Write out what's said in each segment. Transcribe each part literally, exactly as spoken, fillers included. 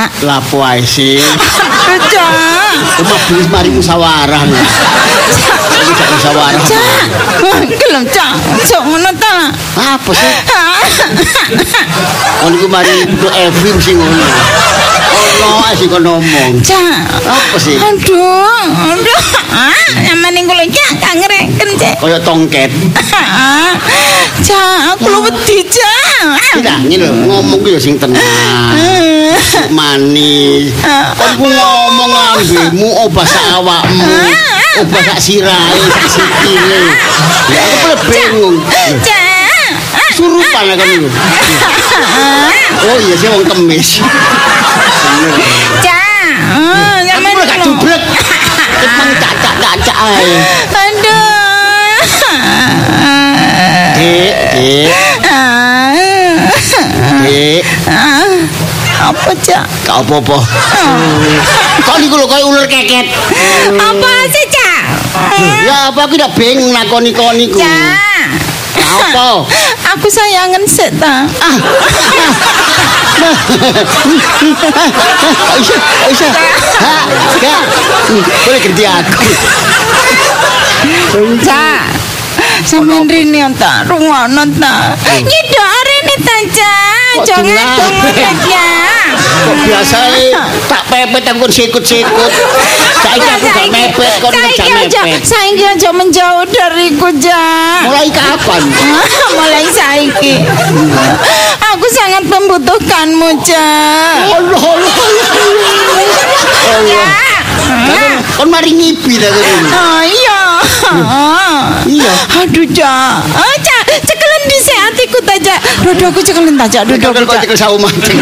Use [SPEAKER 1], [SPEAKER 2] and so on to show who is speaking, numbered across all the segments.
[SPEAKER 1] Cak.
[SPEAKER 2] Lapo ae sih.
[SPEAKER 1] Aduh, Cak.
[SPEAKER 2] Omah bis mari musyawarah. Iki gak musyawarah.
[SPEAKER 1] Cak. Gelem, Cak. Sok ngono ta.
[SPEAKER 2] Apa sih? Kon iku mari untuk Evim sing ngono. Ono ae sing kon ngomong.
[SPEAKER 1] Cak.
[SPEAKER 2] Apa sih?
[SPEAKER 1] Aduh, aduh. Ah, nyamane kula Cak gak ngereken, Cak.
[SPEAKER 2] Kaya tongket.
[SPEAKER 1] Cak, aku lu wedi, Cak.
[SPEAKER 2] Tidak, ini lho, ngomong ku ya sing tenang. Manis. Kon ku ngomong ambemu obah sak awakmu. Obah sak sirahe, sak sikile. Ya aku boleh bingung.
[SPEAKER 1] Cak.
[SPEAKER 2] Surupan lah kan itu. Oh iya sih wong kemis.
[SPEAKER 1] Cak.
[SPEAKER 2] Aku gak jubrek. Emang cak-cak-cak ae.
[SPEAKER 1] Aduh.
[SPEAKER 2] Dik, dik. Dik.
[SPEAKER 1] Apa, Cak?
[SPEAKER 2] Gak apa-apa. Kok niku lho kaya ular keket.
[SPEAKER 1] Apa sih, Cak?
[SPEAKER 2] Ya apa aku udah bingung nakoni kon niku.
[SPEAKER 1] Cak.
[SPEAKER 2] Apa?
[SPEAKER 1] Aku sayangen sik ta.
[SPEAKER 2] Aisyah, Aisyah. Ha, gak. Boleh ganti aku.
[SPEAKER 1] Cak. Sampeyan rene ta, rungono ta. Nyidok rene ta, Cak. Jangan ngono ya.
[SPEAKER 2] Kok biasae tak pepet aku sikut-sikut. Saiki aku gak mepet, kok gak mepet.
[SPEAKER 1] Saiki aja menjauh dariku, Cak.
[SPEAKER 2] Mulai kapan?
[SPEAKER 1] Mulai saiki. Aku sangat membutuhkanmu, Cak.
[SPEAKER 2] Allah, Allah, Allah. Allah. Kon mari ngipi ta kene.
[SPEAKER 1] Oh iya.
[SPEAKER 2] Iya.
[SPEAKER 1] Aduh, Cak. Oh, Cak, cekelen dhisik atiku ta, Cak. Dodoku cekelen ta, Cak. Dodoku.
[SPEAKER 2] Kok cekel sawu mancing.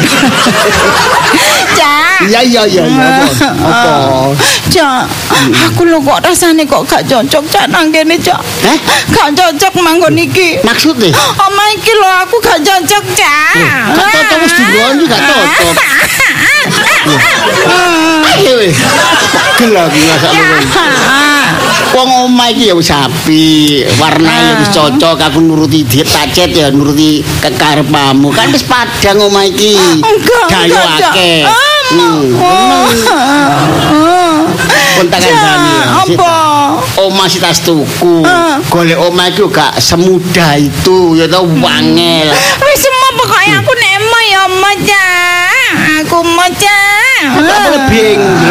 [SPEAKER 1] Cak.
[SPEAKER 2] Iya, iya, iya, iya. Apa?
[SPEAKER 1] Cak, aku lho kok rasane kok gak cocok, Cak, nang kene, Cak.
[SPEAKER 2] Eh?
[SPEAKER 1] Gak cocok manggon iki.
[SPEAKER 2] Maksudnya?
[SPEAKER 1] Omah iki lho aku gak cocok, Cak.
[SPEAKER 2] Gak cocok wis diloni gak cocok. Ayo wis. Pegel aku ngrasakno. Wong omah iki ya wis apik, warnane wis cocok, aku nuruti diet tacet ya nuruti kekarepmu. Kan wis padang omah iki. Gayo akeh. Pun tak kandhani.
[SPEAKER 1] Apa?
[SPEAKER 2] Omah si tas tuku. Golek omah iki gak semudah itu, ya tau wangel.
[SPEAKER 1] Wis semua pokoknya aku nek emoh ya emoh, Cak. Aku mau, Cak.
[SPEAKER 2] Tak boleh bingung.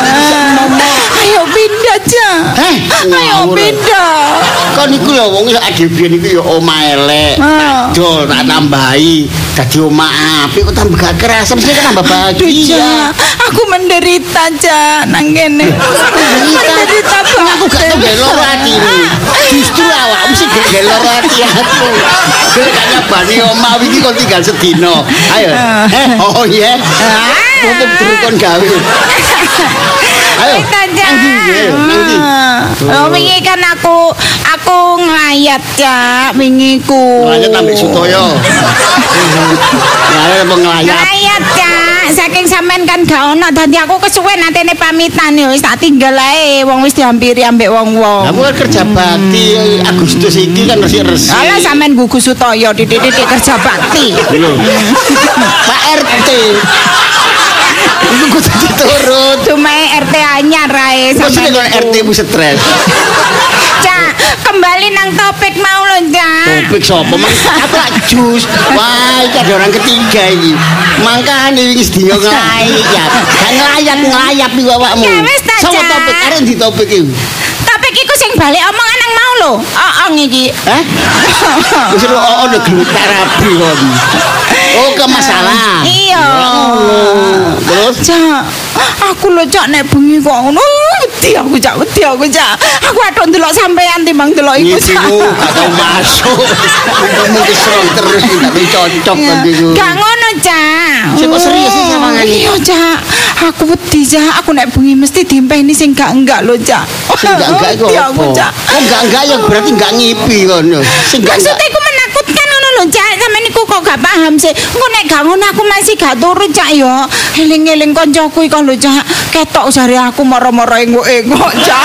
[SPEAKER 1] Ayo pindah, Cak.
[SPEAKER 2] Heh,
[SPEAKER 1] Ayo pindah.
[SPEAKER 2] Kon iku lho wong sak dhewe iku ya omah elek. Dol tak tambahi dadi omah apik kok tambah gak kerasa mesti kan tambah bahagia.
[SPEAKER 1] Aku menderita, Cak, nang kene. Menderita banget.
[SPEAKER 2] Aku gak tau loro ati. Justru awakmu sing gak loro ati aku. Kowe gak nyabani omah iki kok tinggal sedina. Ayo. Eh, oh iya. Mumpung durung gawe. Ayo. Nanti, nanti.
[SPEAKER 1] Oh, wingi kan aku aku nglayat, Cak, wingi ku.
[SPEAKER 2] Nglayat ambek Sutoyo. Nglayat apa nglayat?
[SPEAKER 1] Nglayat, Cak. Saking sampean kan gak ono dadi aku kesuwen atene pamitan ya wis tak tinggal ae wong wis dihampiri ambek wong-wong.
[SPEAKER 2] Kamu kan kerja bakti Agustus iki kan masih resik.
[SPEAKER 1] Alah sampean gugus Sutoyo titik-titik kerja bakti.
[SPEAKER 2] Pak R T. Iku kudu diturut.
[SPEAKER 1] Cuma R T anyar ae
[SPEAKER 2] sampean. Mesti R T mu stres.
[SPEAKER 1] Cak, kembali nang topik mau lho, Cak.
[SPEAKER 2] Topik sapa? Mang apa jus. Wah, iki ada orang ketiga iki. Mangkane iki sedina nglayat. Gak nglayat-nglayap iki awakmu. Sopo topik arek di topik iki?
[SPEAKER 1] Topik iku sing balik omongan nang mau lho. Oong iki.
[SPEAKER 2] Hah? Wis lho ono gelutar rabi kon. Oh, ke masalah.
[SPEAKER 1] Iya.
[SPEAKER 2] Terus,
[SPEAKER 1] Cak, aku lho, Cak, nek bengi kok ngono, wedi aku, Cak, wedi aku, Cak. Aku aduh ndelok sampean timbang ndelok iku, Cak.
[SPEAKER 2] Iku gak tau masuk. Ngomong kesel terus gak cocok kan iku.
[SPEAKER 1] Gak ngono, Cak.
[SPEAKER 2] Sing kok serius sih sawangane.
[SPEAKER 1] Iya, Cak. Aku wedi, Cak. Aku nek bengi mesti dimpeni sing gak enggak lho, Cak.
[SPEAKER 2] Sing gak enggak iku apa? Oh, enggak enggak ya berarti enggak ngipi kono. Sing enggak.
[SPEAKER 1] Maksudnya iku menakutkan ngono lho, Cak. Sampeyan niku kok gak paham sih. Engko nek gak ngono aku masih gak turut, Cak ya. Eling-eling koncoku iku lho, Cak. Ketok jare aku moro-moro engok-engok, Cak.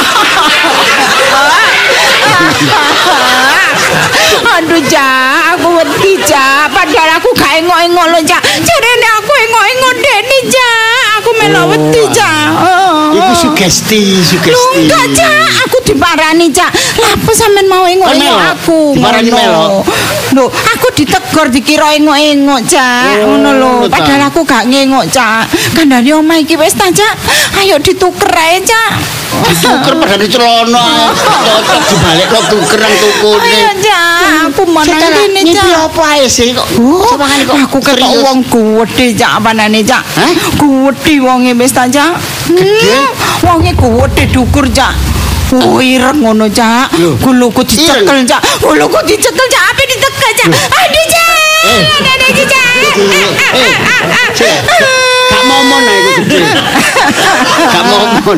[SPEAKER 1] Aduh, Cak, aku wedi, Cak. Padahal aku gak engok-engok lho, Cak. Jarene aku engok-engok dene, Cak. melok wedi, Cak.
[SPEAKER 2] Iku sugesti, sugesti.
[SPEAKER 1] Enggak, Cak, aku diparani, Cak. Lah apa sampean mau engok-engok aku?
[SPEAKER 2] Diparani melok.
[SPEAKER 1] Lho, aku ditegur dikira engok-engok, Cak. Ngono lho. Padahal aku gak ngengok, Cak. Kandhane omah iki wis ta, Cak. Ayo dituker ae, Cak.
[SPEAKER 2] Dituker padahal celana. Cocok dibalik kok tukeran tukune.
[SPEAKER 1] Ayo, Cak. Aku menang rene, Cak.
[SPEAKER 2] Iki apa ae sih kok?
[SPEAKER 1] Sampeyan kok aku ketok wong gedhe, Cak, panane, Cak. Gedhe wonge wis ta, Cak.
[SPEAKER 2] Gedhe?
[SPEAKER 1] Wonge gedhe dukur, Cak. Oh, ireng ngono, Cak. Guluku dicekel, Cak. Guluku dicekel, Cak. Ape ditekel, Cak. Aduh, Cak. Ada iki, Cak.
[SPEAKER 2] Gak momon ae iku gedhe. Gak momon.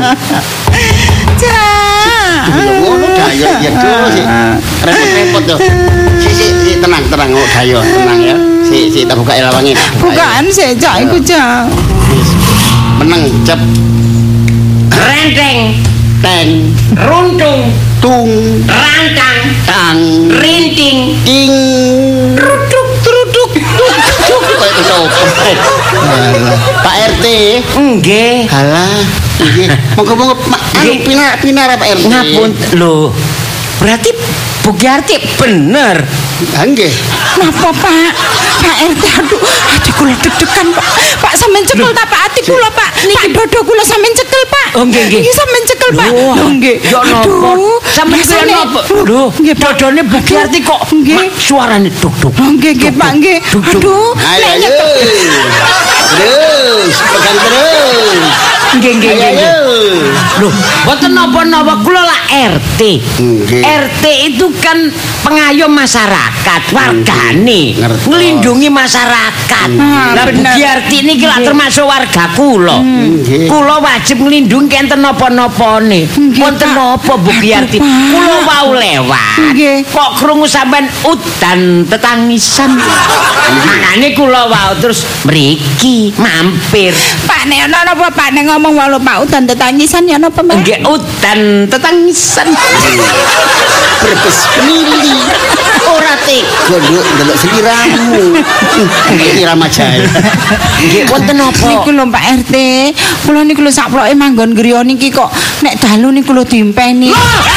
[SPEAKER 1] Cak.
[SPEAKER 2] Ngono dayo ya terus sih. Repot-repot tuh. Si si si tenang tenang kok dayo, tenang ya. Si si tak buka lawange.
[SPEAKER 1] Bukaan sih, Cak, iku, Cak.
[SPEAKER 2] Meneng cep
[SPEAKER 3] Renteng,
[SPEAKER 2] teng
[SPEAKER 3] runtung,
[SPEAKER 2] tung
[SPEAKER 3] rantang,
[SPEAKER 2] tang
[SPEAKER 3] rinting,
[SPEAKER 2] ing
[SPEAKER 1] Truduk, truduk.
[SPEAKER 2] Kok itu sopo? Pak R T.
[SPEAKER 3] nggih.
[SPEAKER 2] Halah, nggih. Monggo-monggo anu pinar pinar Pak R T.
[SPEAKER 3] Ngapun lho. Berarti Bu Giarti bener.
[SPEAKER 2] Ha nggih.
[SPEAKER 1] Napa, Pak? Pak R T, aduh, ati kula deg-degan, Pak. Pak sampean cekel ta, Pak? Ati kula, Pak. Pak dodo kula sampean cekel, Pak.
[SPEAKER 3] Oh, nggih, nggih.
[SPEAKER 1] Iki sampean cekel, Pak.
[SPEAKER 3] Lho,
[SPEAKER 1] Lho, nggih.
[SPEAKER 3] Ya napa? Sampeyan kira
[SPEAKER 1] rasane-
[SPEAKER 3] napa? Lho,
[SPEAKER 1] Nggih, Pak.
[SPEAKER 3] dodone Bu Giarti kok
[SPEAKER 1] Nggih.
[SPEAKER 3] mak suarane duk-duk.
[SPEAKER 1] Oh, nggih, nggih, Pak, nggih. Aduh,
[SPEAKER 2] Ayo
[SPEAKER 1] nek
[SPEAKER 2] ayo.
[SPEAKER 1] nyekel.
[SPEAKER 2] Terus, pegang terus.
[SPEAKER 3] Nggih, nggih,
[SPEAKER 2] Ayo
[SPEAKER 3] nggih. nggih.
[SPEAKER 2] ayo.
[SPEAKER 3] Loh, boten napa-napa kula lah R T.
[SPEAKER 2] Nggih.
[SPEAKER 3] R T itu kan pengayom masyarakat, wargane,
[SPEAKER 2] Ngertos.
[SPEAKER 3] nglindungi masyarakat.
[SPEAKER 1] Ah,
[SPEAKER 3] Lah Bu
[SPEAKER 1] bener.
[SPEAKER 3] Giarti niki lak termasuk warga kula.
[SPEAKER 2] Nggih.
[SPEAKER 3] Kula wajib nglindungi enten napa-napane.
[SPEAKER 1] Nggih,
[SPEAKER 3] Wonten
[SPEAKER 1] Pak.
[SPEAKER 3] napa Bu Giarti?
[SPEAKER 1] Aduh, Pak.
[SPEAKER 3] Kula wau lewat.
[SPEAKER 1] Nggih.
[SPEAKER 3] Kok krungu sampean udan tetangisan. Makane kula wau terus mriki mampir.
[SPEAKER 1] Pak, nek ana napa, Pak, nek ngomong walau Pak udan tetangisan ya napa, Pak?
[SPEAKER 3] Nggih udan tetangisan.
[SPEAKER 2] Berbes mili. Ora tega nduk ndelok seliramu. Nggih irama jae.
[SPEAKER 3] Nggih wonten napa?
[SPEAKER 1] Niku lho Pak R T, kula niku lho sakploke manggon griya niki kok nek dalu niku lho dimpeni.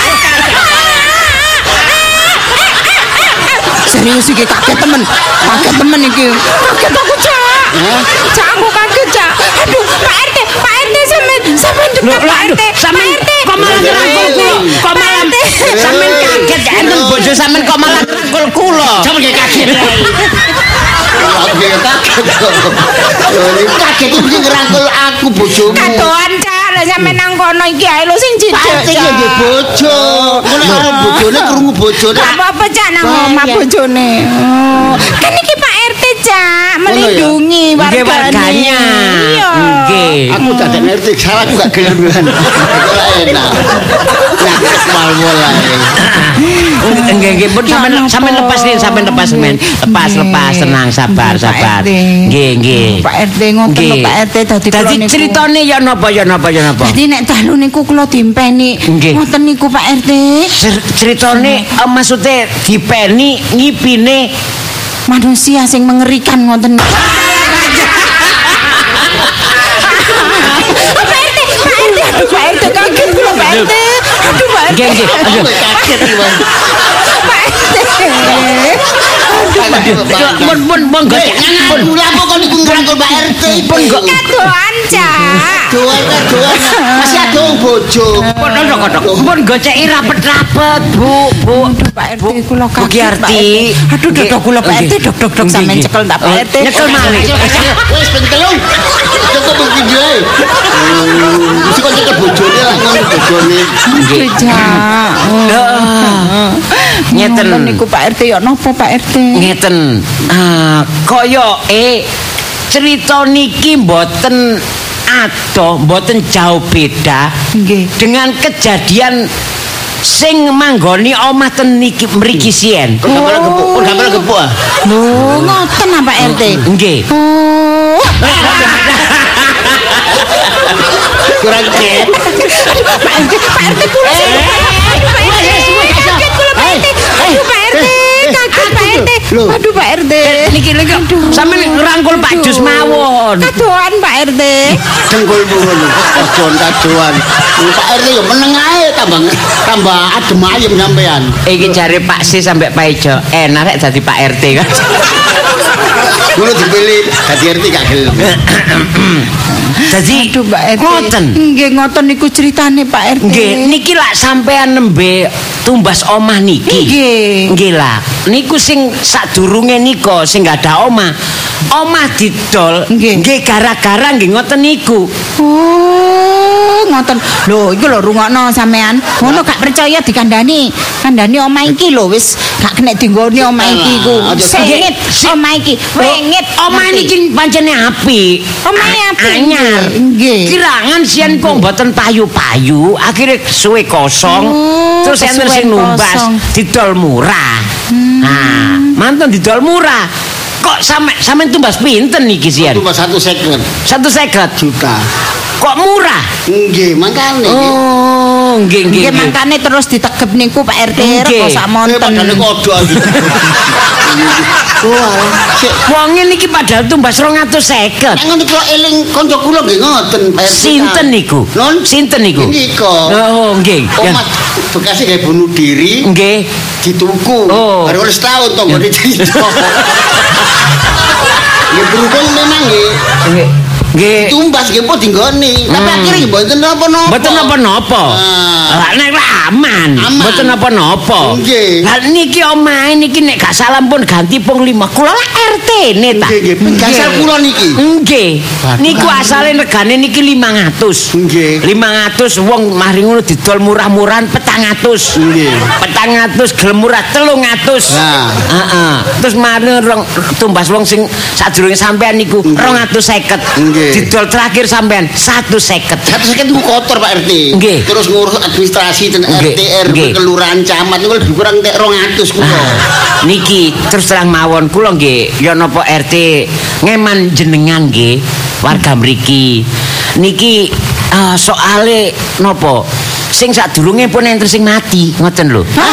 [SPEAKER 1] Serius iki kaget temen. Kaget temen iki. Kaget aku, Cak. Cak aku kaget, Cak. Aduh, Pak R T, Pak R T sampean sampean
[SPEAKER 3] Loh,
[SPEAKER 1] dekat Pak R T.
[SPEAKER 3] sampean
[SPEAKER 1] Pak R T.
[SPEAKER 3] kok malah ngerangkul kula? Kok malah sampean kaget ya enten bojo sampean kok malah ngerangkul kula?
[SPEAKER 2] Sampe nggih kaget. Aku nggih kaget. Lho iki kaget iki ngerangkul aku bojomu.
[SPEAKER 1] Kadoan, Cak. Lah sampean nang kono iki ae lho sing
[SPEAKER 2] Pak R
[SPEAKER 1] cidek,
[SPEAKER 2] T ya nggih bojo. Ngono karo bojone krungu bojone.
[SPEAKER 1] Gak apa-apa, Cak, nang omah bojone. Oh, kan iki Pak R T, Cak, melindungi
[SPEAKER 3] Nggih,
[SPEAKER 1] wargane.
[SPEAKER 3] warganya.
[SPEAKER 1] Iya.
[SPEAKER 3] Nggih.
[SPEAKER 2] Aku tak ada ngerti, salah aku gak gelem-gelem. Ora enak. Nah, mal-mal ae.
[SPEAKER 3] Nggih nggih pun sampean
[SPEAKER 1] Ya,
[SPEAKER 3] sampean
[SPEAKER 1] napa?
[SPEAKER 3] lepas nih, sampean lepas men. Lepas
[SPEAKER 1] Nggih.
[SPEAKER 3] lepas tenang sabar
[SPEAKER 1] Nggih, Pak
[SPEAKER 3] sabar.
[SPEAKER 1] R T.
[SPEAKER 3] Nggih nggih.
[SPEAKER 1] Pak R T ngoten lho,
[SPEAKER 3] Nggih.
[SPEAKER 1] Pak R T dadi kula
[SPEAKER 3] Dadi
[SPEAKER 1] niku.
[SPEAKER 3] critane ya napa ya napa ya napa.
[SPEAKER 1] Dadi nek dalu niku kula dimpeni.
[SPEAKER 3] Nggih.
[SPEAKER 1] Ngoten niku Pak R T.
[SPEAKER 3] Cer- Critane eh, maksudnya dipeni ngipine
[SPEAKER 1] Manusia sing mengerikan ngoten. Pak R T, Pak R T, aduh Pak R T kaget kula Pak R T. Aduh Pak R T.
[SPEAKER 3] nggih nggih. Aduh.
[SPEAKER 2] Aku kaget iki, Bang.
[SPEAKER 1] Pak R T.
[SPEAKER 3] Pun pun pun
[SPEAKER 2] Pun
[SPEAKER 3] gocek pun.
[SPEAKER 2] lapo kok niku ngrangkul Pak R T
[SPEAKER 3] Pun kok
[SPEAKER 1] Kadoan, Cak.
[SPEAKER 2] doan doan masih ada wong bojo.
[SPEAKER 3] Pun kodok pun goceki rapet-rapet Bu Bu.
[SPEAKER 1] Aduh Pak R T kula
[SPEAKER 3] Bu
[SPEAKER 1] kaget.
[SPEAKER 3] Giarti.
[SPEAKER 1] Pak R T. Aduh
[SPEAKER 3] Nggih.
[SPEAKER 1] dodok kula Pak R T
[SPEAKER 3] Nggih.
[SPEAKER 1] dok-dok
[SPEAKER 3] Nggih,
[SPEAKER 1] sampean
[SPEAKER 3] nggih.
[SPEAKER 1] cekel tak Pak R T.
[SPEAKER 3] Nyekel malih.
[SPEAKER 2] Wes ben telung. Cukup begini ae. Mesti kok cekel bojone lah ngono bojone.
[SPEAKER 1] Nggih, Cak.
[SPEAKER 3] Ah, ngeten.
[SPEAKER 1] Ngoten niku Pak R T ya napa Pak R T?
[SPEAKER 3] Ngeten. Ah, kaya eh cerita niki mboten adoh, mboten jauh beda
[SPEAKER 1] Nggih.
[SPEAKER 3] dengan kejadian sing manggoni omah ten niki mriki sien.
[SPEAKER 2] Kok gambar gepuk, kok gambar gepuk ah.
[SPEAKER 1] Lho, ngoten ah Pak R T.
[SPEAKER 3] Nggih.
[SPEAKER 1] Oh.
[SPEAKER 2] Kurang ket.
[SPEAKER 1] Pak R T, Pak R T kula sing. Aduh Pak R T. Kaget kula Pak R T. Aduh Pak R T. Kaget Pak R T.
[SPEAKER 2] Loh.
[SPEAKER 1] Aduh Pak R T.
[SPEAKER 3] niki lho sampean ngrangkul Pak Jus mawon.
[SPEAKER 1] Kadoan Pak R T.
[SPEAKER 2] Dengkul purun. Kadoan kadoan. Pak R T yo meneng ae tambah tambah adem ayem sampean.
[SPEAKER 3] Iki jare Pak Si sampe Pak Ijo enak rek dadi Pak R T kan.
[SPEAKER 2] Kulo dipilih dadi R T gak gelem.
[SPEAKER 3] Dadi
[SPEAKER 1] Aduh Pak R T.
[SPEAKER 3] ngoten.
[SPEAKER 1] Nggih ngoten niku ceritane Pak R T.
[SPEAKER 3] Nggih, niki lak sampean nembe tumbas omah niki.
[SPEAKER 1] Nggih.
[SPEAKER 3] Nggih lah. Niku sing sadurunge nika sing gak ada omah. Omah didol
[SPEAKER 1] Nggih.
[SPEAKER 3] nggih gara-gara nggih ngoten niku.
[SPEAKER 1] Oh, ngoten. Lho, iku lho rungokno sampean. Ngono gak percaya dikandani. Kandani omah iki lho wis gak kena dinggoni omah iki ku. Sengit omah iki. Wengit
[SPEAKER 3] Omah niki pancene apik.
[SPEAKER 1] Omahe apik.
[SPEAKER 3] Anyar.
[SPEAKER 1] Nggih.
[SPEAKER 3] Kirangan sian kok mboten payu-payu, akhirnya suwe kosong.
[SPEAKER 1] Oh,
[SPEAKER 3] terus enten
[SPEAKER 1] kesuwen
[SPEAKER 3] sing numbas
[SPEAKER 1] kosong.
[SPEAKER 3] didol murah. Nah, mantan didol murah. Kok sampe sampe tumbas pinten niki sian?
[SPEAKER 2] Cuma satu second
[SPEAKER 3] Satu seket
[SPEAKER 2] juta.
[SPEAKER 3] Kok murah?
[SPEAKER 2] Nggih, makane.
[SPEAKER 3] Oh, nggih nggih.
[SPEAKER 1] Nggih mangkane terus ditegep niku Pak R T
[SPEAKER 3] Nggih.
[SPEAKER 1] kok sak
[SPEAKER 2] Eh,
[SPEAKER 1] monten.
[SPEAKER 2] padahal kodok. Wah, sik.
[SPEAKER 3] Wonge niki padahal tumbas rong atus seket.
[SPEAKER 2] Nek ngono kula eling kanca kula nggih ngoten, Pak R T.
[SPEAKER 3] Sinten niku?
[SPEAKER 2] Non
[SPEAKER 3] Sinten niku?
[SPEAKER 2] Nika.
[SPEAKER 3] Oh, nggih.
[SPEAKER 2] Omah bekasnya kayak bunuh diri
[SPEAKER 3] Nggih.
[SPEAKER 2] dituku.
[SPEAKER 3] Oh.
[SPEAKER 2] Baru oleh setahun toh nggak dicerita. Ya berhubung memang nggih.
[SPEAKER 3] Nggih. Nggih.
[SPEAKER 2] Tumbas nggih pun dinggoni. Tapi
[SPEAKER 3] Hmm.
[SPEAKER 2] akhirnya nggih mboten napa-napa.
[SPEAKER 3] Mboten napa-napa.
[SPEAKER 2] Ah.
[SPEAKER 3] Lah nek aman,
[SPEAKER 2] Aman.
[SPEAKER 3] mboten napa-napa.
[SPEAKER 2] Nggih.
[SPEAKER 3] Lah niki omahe niki nek gak salah pun ganti pung lima. Kula lah R T-ne ta.
[SPEAKER 2] Nggih, nggih. Gasal kula niki.
[SPEAKER 3] Nggih.
[SPEAKER 2] Waduh.
[SPEAKER 3] Niku asale regane niki limang atus.
[SPEAKER 2] Nggih.
[SPEAKER 3] limang atus wong mari ngono didol murah-murahan petang atus.
[SPEAKER 2] Nggih.
[SPEAKER 3] petang atus gelem murah telung atus.
[SPEAKER 2] Nah.
[SPEAKER 3] Heeh. Terus mari rong tumbas wong sing sadurunge sampean niku rong atus seket.
[SPEAKER 2] Nggih.
[SPEAKER 3] Didol terakhir sampean satu seket.
[SPEAKER 2] Satu second itu kotor Pak R T.
[SPEAKER 3] Nggih.
[SPEAKER 2] Terus ngurus administrasi dan
[SPEAKER 3] Nggih.
[SPEAKER 2] R T R
[SPEAKER 3] Nggih.
[SPEAKER 2] kelurahan camat niku lebih kurang tek rong atus kula.
[SPEAKER 3] Ah, niki terus terang mawon kula nggih ya napa R T ngeman jenengan nggih warga mriki. Niki ah, soale napa sing sadurunge pun enten sing mati ngoten lho.
[SPEAKER 2] Hah?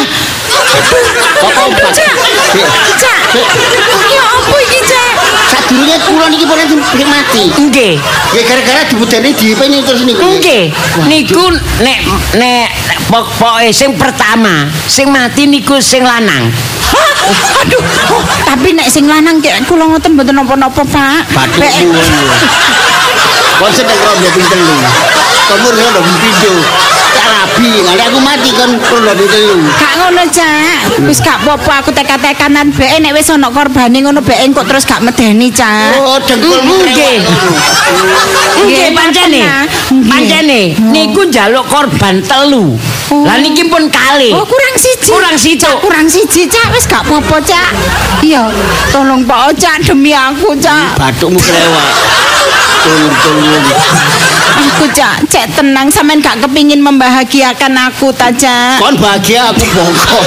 [SPEAKER 2] Apa obat?
[SPEAKER 1] Cak. Cak. Ya apa iki, Cak?
[SPEAKER 2] Sadurunge kula niki pun enten sing mati.
[SPEAKER 3] Nggih.
[SPEAKER 2] Ya gara-gara dibudani dipeni terus niku.
[SPEAKER 3] Nggih. Niku nek nek pokoke sing pertama sing mati niku sing lanang.
[SPEAKER 1] Hah? Aduh. Oh, tapi nek sing lanang kek kula ngoten mboten napa-napa, Pak.
[SPEAKER 2] Batuk
[SPEAKER 1] Nek-
[SPEAKER 2] kuwi. Konsen nek rombong ping telu. Kamur ngono pindho. Rabi, nek aku mati kan rombong ping telu.
[SPEAKER 1] Gak ngono, Cak. Wis gak apa-apa aku teka-tekanan bae nek wis ana korbane ngono bae kok terus gak medeni, Cak.
[SPEAKER 2] Oh, dengkulmu
[SPEAKER 3] Nggih. Nggih
[SPEAKER 1] Nggih,
[SPEAKER 3] pancene.
[SPEAKER 1] Nggih.
[SPEAKER 3] Pancene niku njaluk korban telu.
[SPEAKER 1] Oh.
[SPEAKER 3] Lah niki pun kalih.
[SPEAKER 1] Oh, kurang siji.
[SPEAKER 3] Kurang siji.
[SPEAKER 1] Cak, kurang siji, Cak. Wis gak apa-apa, Cak. Iya, tolong Pak Cak demi aku, Cak.
[SPEAKER 2] Batukmu kelewat. Tolong-tolong.
[SPEAKER 1] Aku, Cak, cek tenang sampean gak kepingin membahagiakan aku ta, Cak.
[SPEAKER 2] Kon bahagia aku bongkok.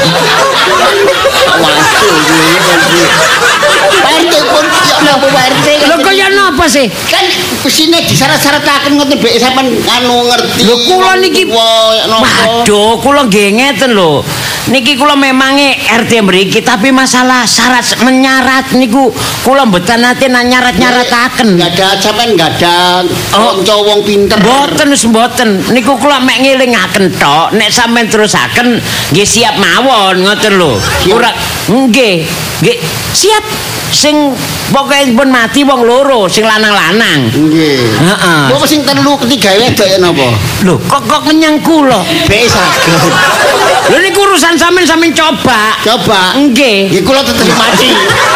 [SPEAKER 2] Waduh, ini kan. Pak R T pun ya napa Pak R T?
[SPEAKER 3] Lho kaya napa sih?
[SPEAKER 2] Kan kesine disyarat-syarataken ngoten mbek sampean anu ngerti.
[SPEAKER 3] Lho kula niki
[SPEAKER 2] Wah, ya napa?
[SPEAKER 3] Waduh, kula nggih ngeten lho. Niki kula memange R T mriki tapi masalah syarat menyarat niku kula mboten nate nyarat-nyarataken.
[SPEAKER 2] Enggak ada sampean enggak ada
[SPEAKER 3] Oh.
[SPEAKER 2] kanca wong pinter.
[SPEAKER 3] Mboten wis mboten. Niku kula mek ngelingaken tok. Nek sampean terusaken nggih siap mawon ngoten lho.
[SPEAKER 2] Siap.
[SPEAKER 3] Ora nggih, nggih siap sing pokoke pun mati wong loro sing lanang-lanang.
[SPEAKER 2] Nggih.
[SPEAKER 3] Heeh.
[SPEAKER 2] Kok sing telu ketiga wedok ya napa?
[SPEAKER 3] Lho, kok kok menyang kula.
[SPEAKER 2] Bek saged.
[SPEAKER 3] Lho niku urusan sampean sampean coba.
[SPEAKER 2] Coba.
[SPEAKER 3] Nggih.
[SPEAKER 2] Nggih kula tetep mati.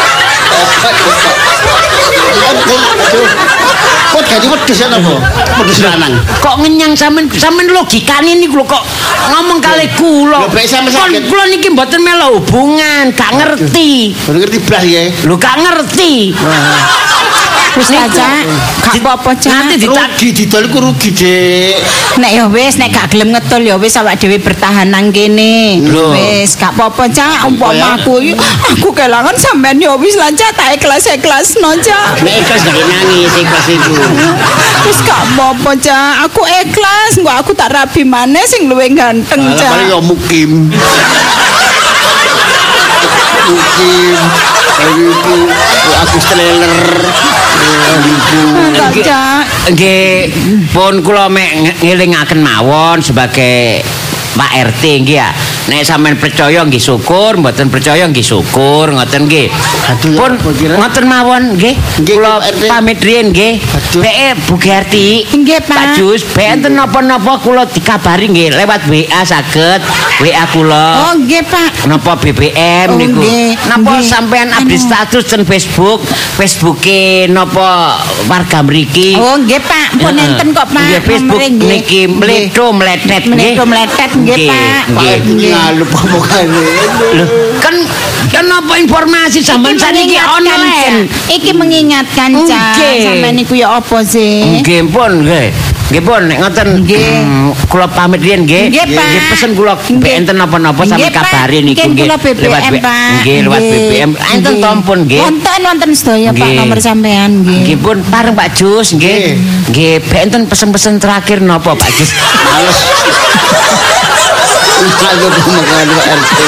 [SPEAKER 2] Kok jadi wedhus ya napa? Wedhus lanang.
[SPEAKER 3] Kok ngenyang sampean sampean logikane niku lho kok ngomong kalih kula.
[SPEAKER 2] Lho, baik sampe
[SPEAKER 3] Kon
[SPEAKER 2] sakit.
[SPEAKER 3] kula niki mboten melu hubungan, gak ngerti.
[SPEAKER 2] Bener ngerti blas ya.
[SPEAKER 3] Lho gak ngerti.
[SPEAKER 1] Wis ta, Cak. Gak apa-apa, Cak.
[SPEAKER 3] Nanti ditak
[SPEAKER 2] Rugi didol iku rugi, Dik.
[SPEAKER 1] Nek ya wis nek gak gelem ngetul ya wis awak dhewe bertahan nang kene.
[SPEAKER 3] Lho.
[SPEAKER 1] Wis gak apa-apa, Cak.
[SPEAKER 2] ya?
[SPEAKER 1] Umpama aku aku kelangan sampean ya wis lah, Cak. Tak ikhlas-ikhlasno, Cak.
[SPEAKER 2] Nek ikhlas gak nangis ikhlas itu.
[SPEAKER 1] Wis gak apa-apa, Cak. Aku ikhlas, engko aku tak rabi maneh sing luwih ganteng,
[SPEAKER 2] Lah paling
[SPEAKER 1] Cak.
[SPEAKER 2] yo mukim. Mukim. Iku aku trailer.
[SPEAKER 3] Nggih, pun kula mek ngelingaken mawon sebagai Pak R T nggih ya. Nek sampean percaya nggih syukur, mboten percaya nggih syukur, ngoten nggih. Pun ngoten mawon nggih. Kula pamit riyen nggih. Beke Bu Gerti.
[SPEAKER 1] Nggih, Pak.
[SPEAKER 3] Pak Jus, ben enten napa-napa kula dikabari nggih lewat W A saged. W A kula.
[SPEAKER 1] Oh, nggih, Pak.
[SPEAKER 3] Napa B B M niku. Napa sampean update status ten Facebook, Facebooke napa warga mriki.
[SPEAKER 1] Oh, nggih, Pak. Pun enten kok, Pak.
[SPEAKER 3] Nggih, Facebook niki mledo mletet nggih.
[SPEAKER 1] Mledo mletet nggih, Pak.
[SPEAKER 3] Nggih.
[SPEAKER 2] Lalu pemokane.
[SPEAKER 3] Lho, kan kan apa informasi sampean saniki online.
[SPEAKER 1] Iki mengingatkan, Cak. Sampeyan niku ya apa sih?
[SPEAKER 3] Nggih, pun nggih. Nggih pun nek ngoten kula pamit riyen nggih. Nggih pesen kula enten napa-napa sampe kabari niku nggih.
[SPEAKER 1] Lewat B B M,
[SPEAKER 3] nggih lewat B B M. Enten tompun nggih.
[SPEAKER 1] Wonten wonten sedaya Pak nomor sampean nggih.
[SPEAKER 3] Nggih pun pareng Pak Jus nggih. Nggih enten pesen-pesen terakhir napa Pak Jus?
[SPEAKER 2] Males. Aku pemokane Pak R T.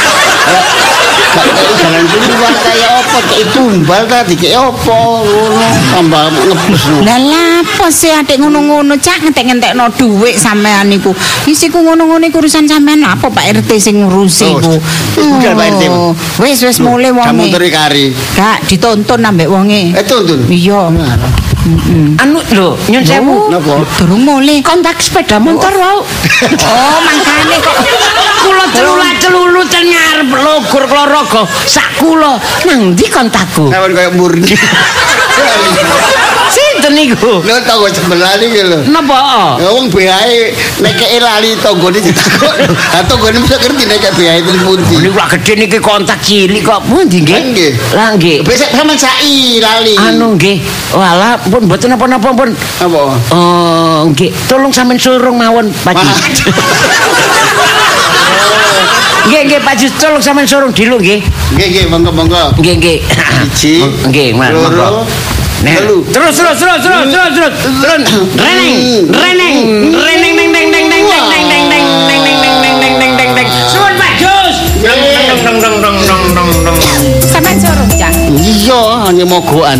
[SPEAKER 2] Jalan keluar kayak apa kayak tumbal tadi kayak apa ngono tambah ngebus
[SPEAKER 1] lah lapo sih adik ngono-ngono cak ngentek-ngentekno dhuwit sampean niku isiku ngono-ngono iku urusan sampean apa Pak R T sing ngurusi iku
[SPEAKER 2] udah Pak R T
[SPEAKER 1] wis wis mulai wonge
[SPEAKER 2] kamu teri kari
[SPEAKER 1] gak ditonton ambek wonge
[SPEAKER 2] eh tonton
[SPEAKER 1] iya
[SPEAKER 3] anu lho nyun sewu
[SPEAKER 2] napa
[SPEAKER 1] durung mulai
[SPEAKER 3] kontak sepeda motor wae
[SPEAKER 1] oh mangkane kok
[SPEAKER 3] kula celula-celulu ten ngarep logur klorogo sak kula nang ndi kontakku
[SPEAKER 2] sampean koyo murni
[SPEAKER 3] sinten niku
[SPEAKER 2] lho tanggo sebelah iki lho
[SPEAKER 3] napa
[SPEAKER 2] wong B A-e nekeke lali tanggane ditakok ha tanggane mesti ngerti nek B A-e ten pundi
[SPEAKER 3] niku lak gedhe niki kontak cilik kok pundi nggih
[SPEAKER 2] nggih
[SPEAKER 3] lah nggih
[SPEAKER 2] besok sampean sai lali
[SPEAKER 3] anu nggih walah pun mboten napa-napa pun
[SPEAKER 2] apa
[SPEAKER 3] oh nggih tolong sampean surung mawon Pak Nggih nggih Pak Jus tolong sampean surung dilu nggih.
[SPEAKER 2] Nggih nggih monggo monggo.
[SPEAKER 3] Nggih nggih.
[SPEAKER 2] Siji.
[SPEAKER 3] Nggih monggo. Terus terus terus terus terus terus terus. Reneng reneng reneng neng neng neng neng neng neng neng neng neng neng neng neng neng neng neng neng. Suwun Pak Jus. Dong dong dong dong dong dong dong.
[SPEAKER 1] Sampeyan surung Cak.
[SPEAKER 2] Iya hanya mogokan.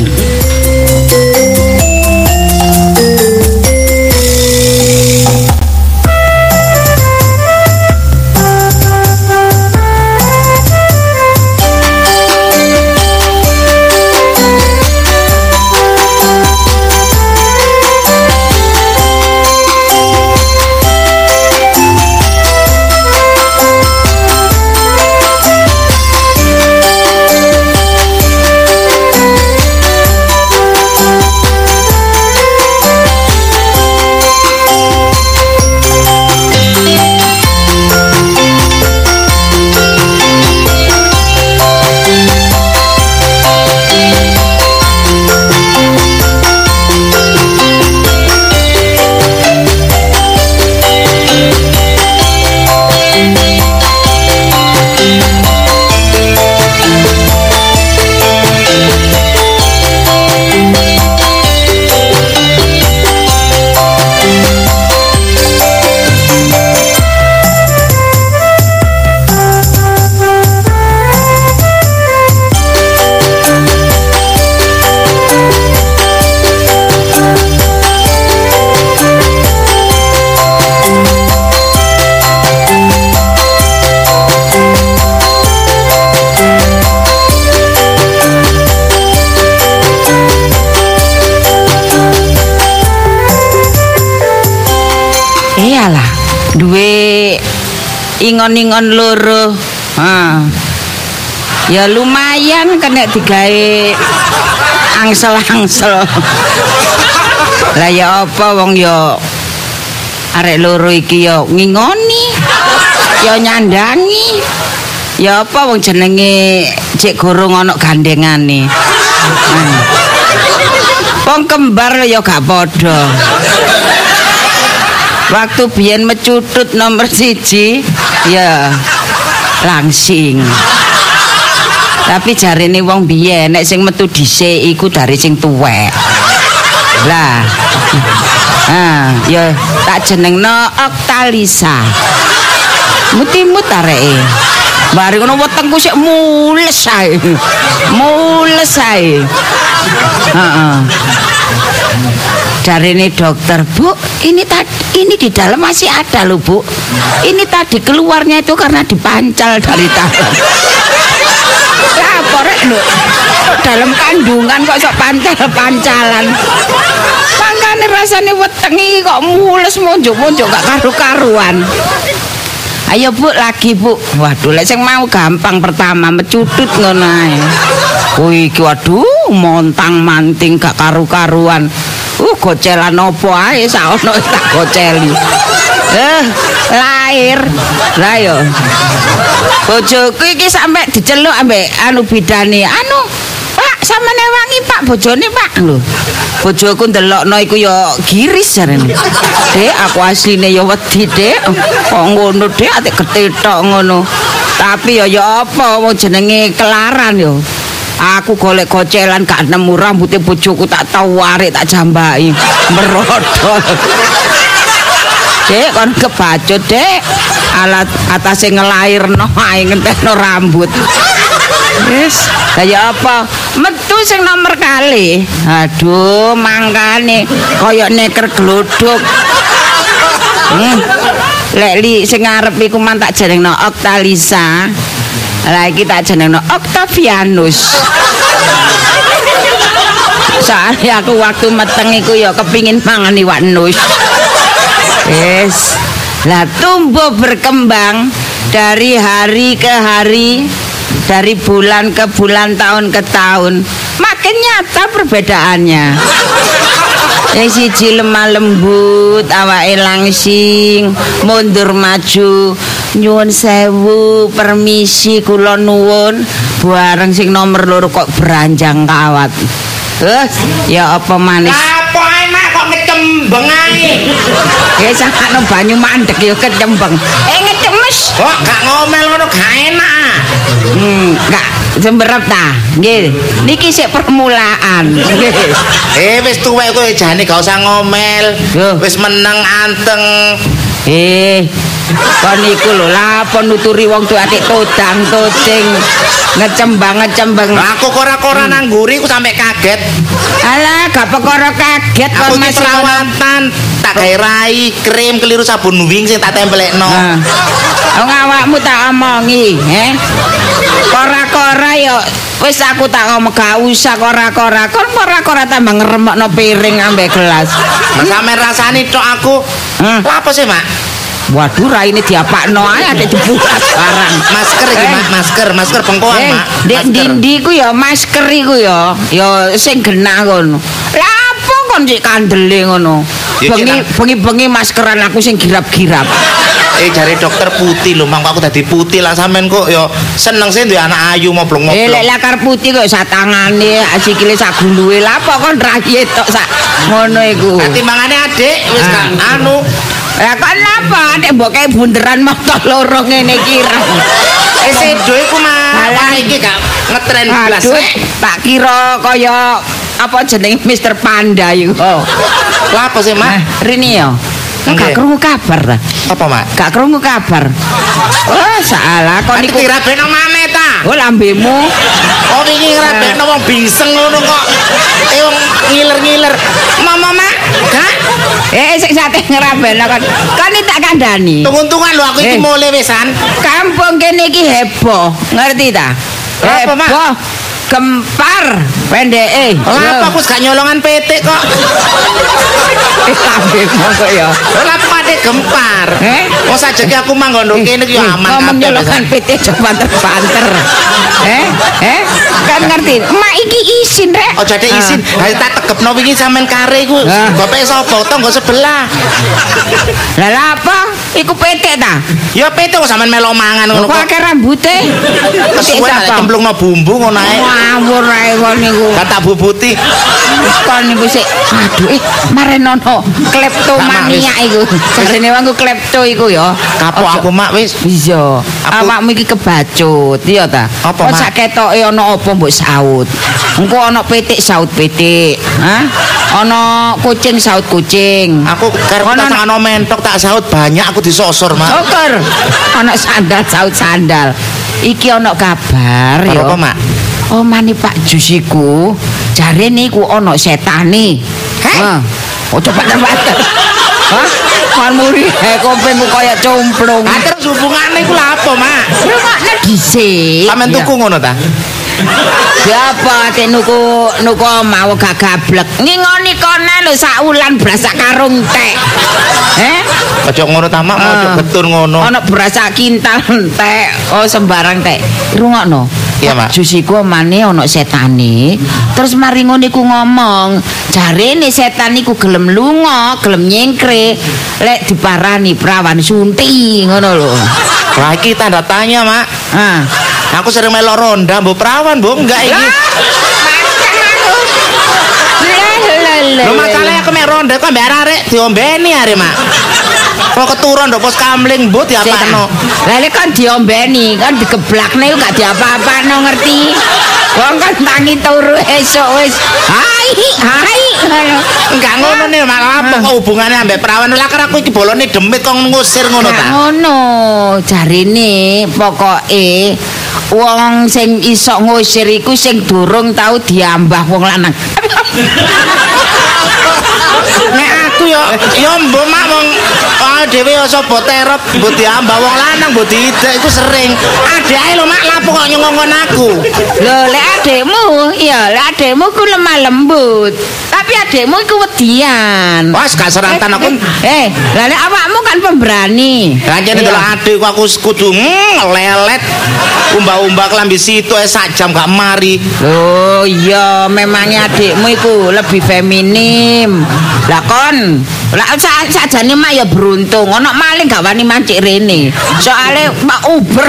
[SPEAKER 1] Iyalah, duwe ingon-ingon loro. Ha. Ya lumayan kena digawe angsel-angsel. Lah ya apa wong ya arek loro iki ya ngingoni. Ya nyandangi. Ya apa wong jenenge cek gorong ana gandengane. Nah. Wong kembar ya gak padha. Waktu biyen mecutut nomor siji ya langsing. Tapi jarine wong biyen nek sing metu dhisik iku dari sing tuwek. Lah. Ah, ya tak jenengno Oktalisa. Muti-mut areke. Bareng ngono wetengku sik mules ae. Mules ae. Heeh. Jarine dokter, Bu, ini tadi ini di dalam masih ada loh, Bu. Ini tadi keluarnya itu karena dipancal dari dalam. Apa rek lho? Dalam kandungan kok sok pancal-pancalan. Mangkane rasane wetengi kok mules monjuk-monjuk gak karu-karuan. Ayo Bu, lagi Bu. Waduh, lek sing mau gampang pertama mecudut ngono ae. Kuwi iki waduh montang-manting gak karu-karuan. Uh, gocelan opo ae saono tak goceli. Eh, lahir. Lah yo. Bojoku iki sampe diceluk ambek anu bidane. Anu, Pak, sampeyan wangi Pak bojone Pak lho. Bojoku ndelokno iku yo giris jarene. Dek, aku asline yo wedi, Dek. Kok ngono, Dek, atik ketetok ngono. Tapi yo yo apa wong jenenge kelaran yo. Aku golek gocelan gak nemu rambutnya bojoku tak tau warik tak jambaki merodol. Dek kon kebacut Dek alat atase ngelairno ae ngenteno rambut. Wis kaya apa metu sing nomor kali. Aduh mangkane kaya neker glodok. Hmm. Lek li sing ngarep iku man tak jenengno Oktalisa. Lah iki tak jenengno Octavianus. Soalnya aku waktu meteng iku ya kepingin mangan iwak nus. Yes. Lah tumbuh berkembang dari hari ke hari, dari bulan ke bulan, tahun ke tahun. Makin nyata perbedaannya. Yang siji lemah lembut, awake langsing, mundur maju, nyuwun sewu, permisi kula nuwun, bareng sing nomor loro kok beranjang kawat. Terus ya apa manis?
[SPEAKER 3] Apa enak kok ngecembeng ae.
[SPEAKER 1] Ya sakno banyu mandek ya kecembeng. Eh ngecemes.
[SPEAKER 3] Kok gak ngomel ngono gak enak.
[SPEAKER 1] Hmm, gak semberep ta. Nggih. Niki sik permulaan. Nggih.
[SPEAKER 3] Eh wis tuwek kowe jane gak usah ngomel. Wis meneng anteng.
[SPEAKER 1] Eh, kon iku lho lapo nuturi wong tuwa atik todang tocing ngecembang ngecembang.
[SPEAKER 3] Aku kora-kora nang nguri ku sampe kaget.
[SPEAKER 1] Alah, gak perkara kaget
[SPEAKER 3] Aku
[SPEAKER 1] kon
[SPEAKER 3] iki
[SPEAKER 1] masih
[SPEAKER 3] perawatan tak gawe rai krim keliru sabun wing sing tak tempelekno.
[SPEAKER 1] Nah. Wong awakmu tak omongi, eh. Kora-kora yo wis aku tak ngomong gak usah kora-kora. Kon kora-kora tambah ngeremokno piring ambek gelas.
[SPEAKER 3] Mas sampe rasani tok aku.
[SPEAKER 1] Hmm.
[SPEAKER 3] Lha apa sih, Mak?
[SPEAKER 1] Waduh, raine diapakno ae ada dibuka sekarang.
[SPEAKER 3] Masker iki,
[SPEAKER 1] Eh.
[SPEAKER 3] Mak, masker, masker bengkoang,
[SPEAKER 1] Eh,
[SPEAKER 3] Mak.
[SPEAKER 1] Dek
[SPEAKER 3] Masker.
[SPEAKER 1] ndi iku ya masker iku ya, ya sing genah ngono. Lah apa kon sik kandele ngono?
[SPEAKER 3] Ya,
[SPEAKER 1] Bengi
[SPEAKER 3] Cik,
[SPEAKER 1] bengi-bengi maskeran aku sing girap-girap.
[SPEAKER 3] Eh jare dokter putih lho, Mang, aku dadi putih lah sampean kok ya seneng sih duwe anak ayu
[SPEAKER 1] Eh
[SPEAKER 3] moblong-moblong.
[SPEAKER 1] lek lakar putih kok sak tangane, sikile sak guluwe. Lah apa kon raye tok sak ngono iku.
[SPEAKER 3] Timbangane adik wis
[SPEAKER 1] Ah.
[SPEAKER 3] gak anu.
[SPEAKER 1] Lah kon napa nek mbok kae bunderan motor loro ngene kira.
[SPEAKER 3] Eh sedo iku mah.
[SPEAKER 1] Alah.
[SPEAKER 3] Iki gak ngetren blas.
[SPEAKER 1] Aduh, tak kira kaya apa jenenge mister Panda iku.
[SPEAKER 3] Lah apa sih, Mak?
[SPEAKER 1] Nah, Rini yo. Gak
[SPEAKER 3] Nggih.
[SPEAKER 1] krungu kabar ta?
[SPEAKER 3] Apa, Mak?
[SPEAKER 1] Gak krungu kabar. Oh, salah kon
[SPEAKER 3] Kok
[SPEAKER 1] niku.
[SPEAKER 3] dirabekno maneh ta?
[SPEAKER 1] Oh, lambemu.
[SPEAKER 3] Oh iki ngrabekno wong biseng ngono kok. Eh wong ngiler-ngiler. Mama, Mak. Gak.
[SPEAKER 1] Eh, sik sate ngerabekno kon. Kon iki tak kandhani.
[SPEAKER 3] Tunggu-tungguan lho aku iki
[SPEAKER 1] Eh.
[SPEAKER 3] mulai wisan.
[SPEAKER 1] Kampung kene iki heboh, ngerti ta?
[SPEAKER 3] Apa, Mak?
[SPEAKER 1] Heboh. Gempar pendeke.
[SPEAKER 3] Lah apa aku gak nyolongan P T kok.
[SPEAKER 1] Eh, lambemu kok ya.
[SPEAKER 3] Lah pade gempar.
[SPEAKER 1] Eh?
[SPEAKER 3] Wong sajake aku manggon kene iki ya aman
[SPEAKER 1] Ngomong
[SPEAKER 3] kabeh.
[SPEAKER 1] nyolokan P T aja banter-banter. Eh? Eh? Kan ngerti? Mak iki isin rek.
[SPEAKER 3] Oh jadi isin,
[SPEAKER 1] Ah.
[SPEAKER 3] ha tak tegepno wingi sampean kare iku.
[SPEAKER 1] Ah.
[SPEAKER 3] Bapak sapa tangga sebelah.
[SPEAKER 1] Lah lah apa? Iku P T ta?
[SPEAKER 3] Ya P T kok sampean melo mangan ngono
[SPEAKER 1] Kok
[SPEAKER 3] kok.
[SPEAKER 1] akeh rambute?
[SPEAKER 3] Kesuwen lek cemplungno bumbu ngono ae.
[SPEAKER 1] Ngawur ae kon niku.
[SPEAKER 3] Kata bubuti.
[SPEAKER 1] Kon niku sik aduh eh marenono kleptomania iku. Jarene wong klepto iku ya.
[SPEAKER 3] Kapok
[SPEAKER 1] Ojo-
[SPEAKER 3] aku mak wis.
[SPEAKER 1] Iya,
[SPEAKER 3] Aku-
[SPEAKER 1] awakmu iki kebacut, iya ta?
[SPEAKER 3] Apa,
[SPEAKER 1] Kok
[SPEAKER 3] Mak?
[SPEAKER 1] sak ketoke ana apa mbok saut. Engko ana pitik saut pitik, hah? Ana kucing saut kucing.
[SPEAKER 3] Aku karep
[SPEAKER 1] Ono-
[SPEAKER 3] tak ana mentok tak saut banyak aku disosor mak.
[SPEAKER 1] Syukur. Ana sandal saut sandal. iki ana kabar ya.
[SPEAKER 4] Apa, Mak?
[SPEAKER 1] Omane Pak Jus iku jarene iku ana setane. Heh. Oh coba tebater. Hah? Kan muri he kopengku kaya complung.
[SPEAKER 4] Ah terus hubungane iku lha apa, Mak?
[SPEAKER 1] Rungokne dhisik.
[SPEAKER 4] Sampeyan tuku ngono ta?
[SPEAKER 1] Siapa tek nuku nuku mau gak gablek. Ngingoni kone lho sak wulan beras sak karung tek. Eh?
[SPEAKER 4] Aja ngono ta, Mak, aja betur ngono.
[SPEAKER 1] Ana beras sak kintal tek. Oh sembarang tek. Rungokno.
[SPEAKER 4] Iya, Mak.
[SPEAKER 1] Jus iku omane ana setane. Terus mari ngono iku ngomong, jarene setan iku gelem lunga, gelem nyengkre, lek diparani prawan sunti ngono lho.
[SPEAKER 4] Lah iki tanda tanya, Mak.
[SPEAKER 1] Ah.
[SPEAKER 4] Aku sering melok ronda, mbok perawan, mbok enggak iki. Lho masalahnya aku mek ronda kok mbek arek diombeni are, Mak. Kok keturun ndok pos kamling mbok diapakno.
[SPEAKER 1] Lah lek kan diombeni, kan digeblakne gak diapa-apano ngerti. Wong kan tangi turu esuk wis. Hai, hai.
[SPEAKER 4] Enggak ngono nih, Mak. Apa kok hubungane ambek perawan? Lah kan aku iki bolone demit kok ngusir ngono ta.
[SPEAKER 1] Ngono, jarine pokoke wong sing iso ngusir iku sing durung tau diambah wong lanang.
[SPEAKER 4] Nek aku yo yo mbok mak wong dhewe yo sapa terep mbok diambah wong lanang mbok diidek iku sering. Adeke lho mak lapo kok nyongkon aku.
[SPEAKER 1] Lho lek adekmu ya lek adekmu ku lemah lembut. Tapi adekmu iku wedian.
[SPEAKER 4] Wes gak serantan aku.
[SPEAKER 1] Eh, lah lek awakmu kan pemberani.
[SPEAKER 4] Lah jane delok adekku aku kudu lelet. Umbah-umbah klambi situ eh sak jam gak mari.
[SPEAKER 1] Oh iya, memangnya adikmu iku lebih feminim. Lah kon, lah sajane mak ya beruntung, ana maling gak wani mancik rene. Soale mak uber.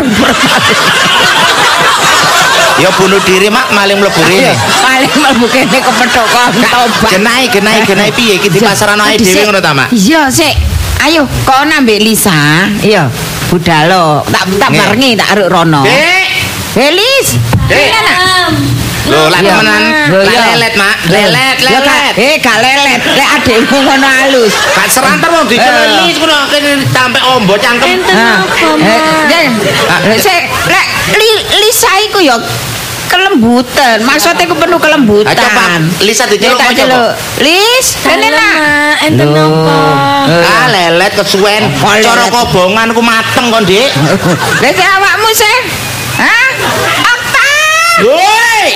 [SPEAKER 4] Ya bunuh diri mak maling mlebu rene.
[SPEAKER 1] Maling mlebu kene kepethuk kok tobat.
[SPEAKER 4] Genai, genai, genai piye iki di pasarano ae dhewe ngono ta, Mak?
[SPEAKER 1] Iya, sik. Ayo, kok nambah Lisa. Iya, budalo. Tak tak barengi tak aruk rono.
[SPEAKER 4] Dek.
[SPEAKER 1] Helis.
[SPEAKER 4] Dek. Lho, lak temenan. Lelet, Mak. Lelet, lelet.
[SPEAKER 1] Eh, gak lelet. Lek adekmu ngono halus.
[SPEAKER 4] Gak serantar wong dikelis ngono kene sampe ombo cangkem.
[SPEAKER 1] Enten apa, Mak? Sik, lek Lisa iku ya kelembutan. Maksudnya ku penuh kelembutan.
[SPEAKER 4] Coba Lisa diceluk
[SPEAKER 1] aja lo. Lis, rene nak.
[SPEAKER 5] Enten apa?
[SPEAKER 4] Ah, lelet kesuwen. Cara kobongan ku mateng kon, Dik.
[SPEAKER 1] Lah sik awakmu sih. Hah? Okta.
[SPEAKER 4] Woi.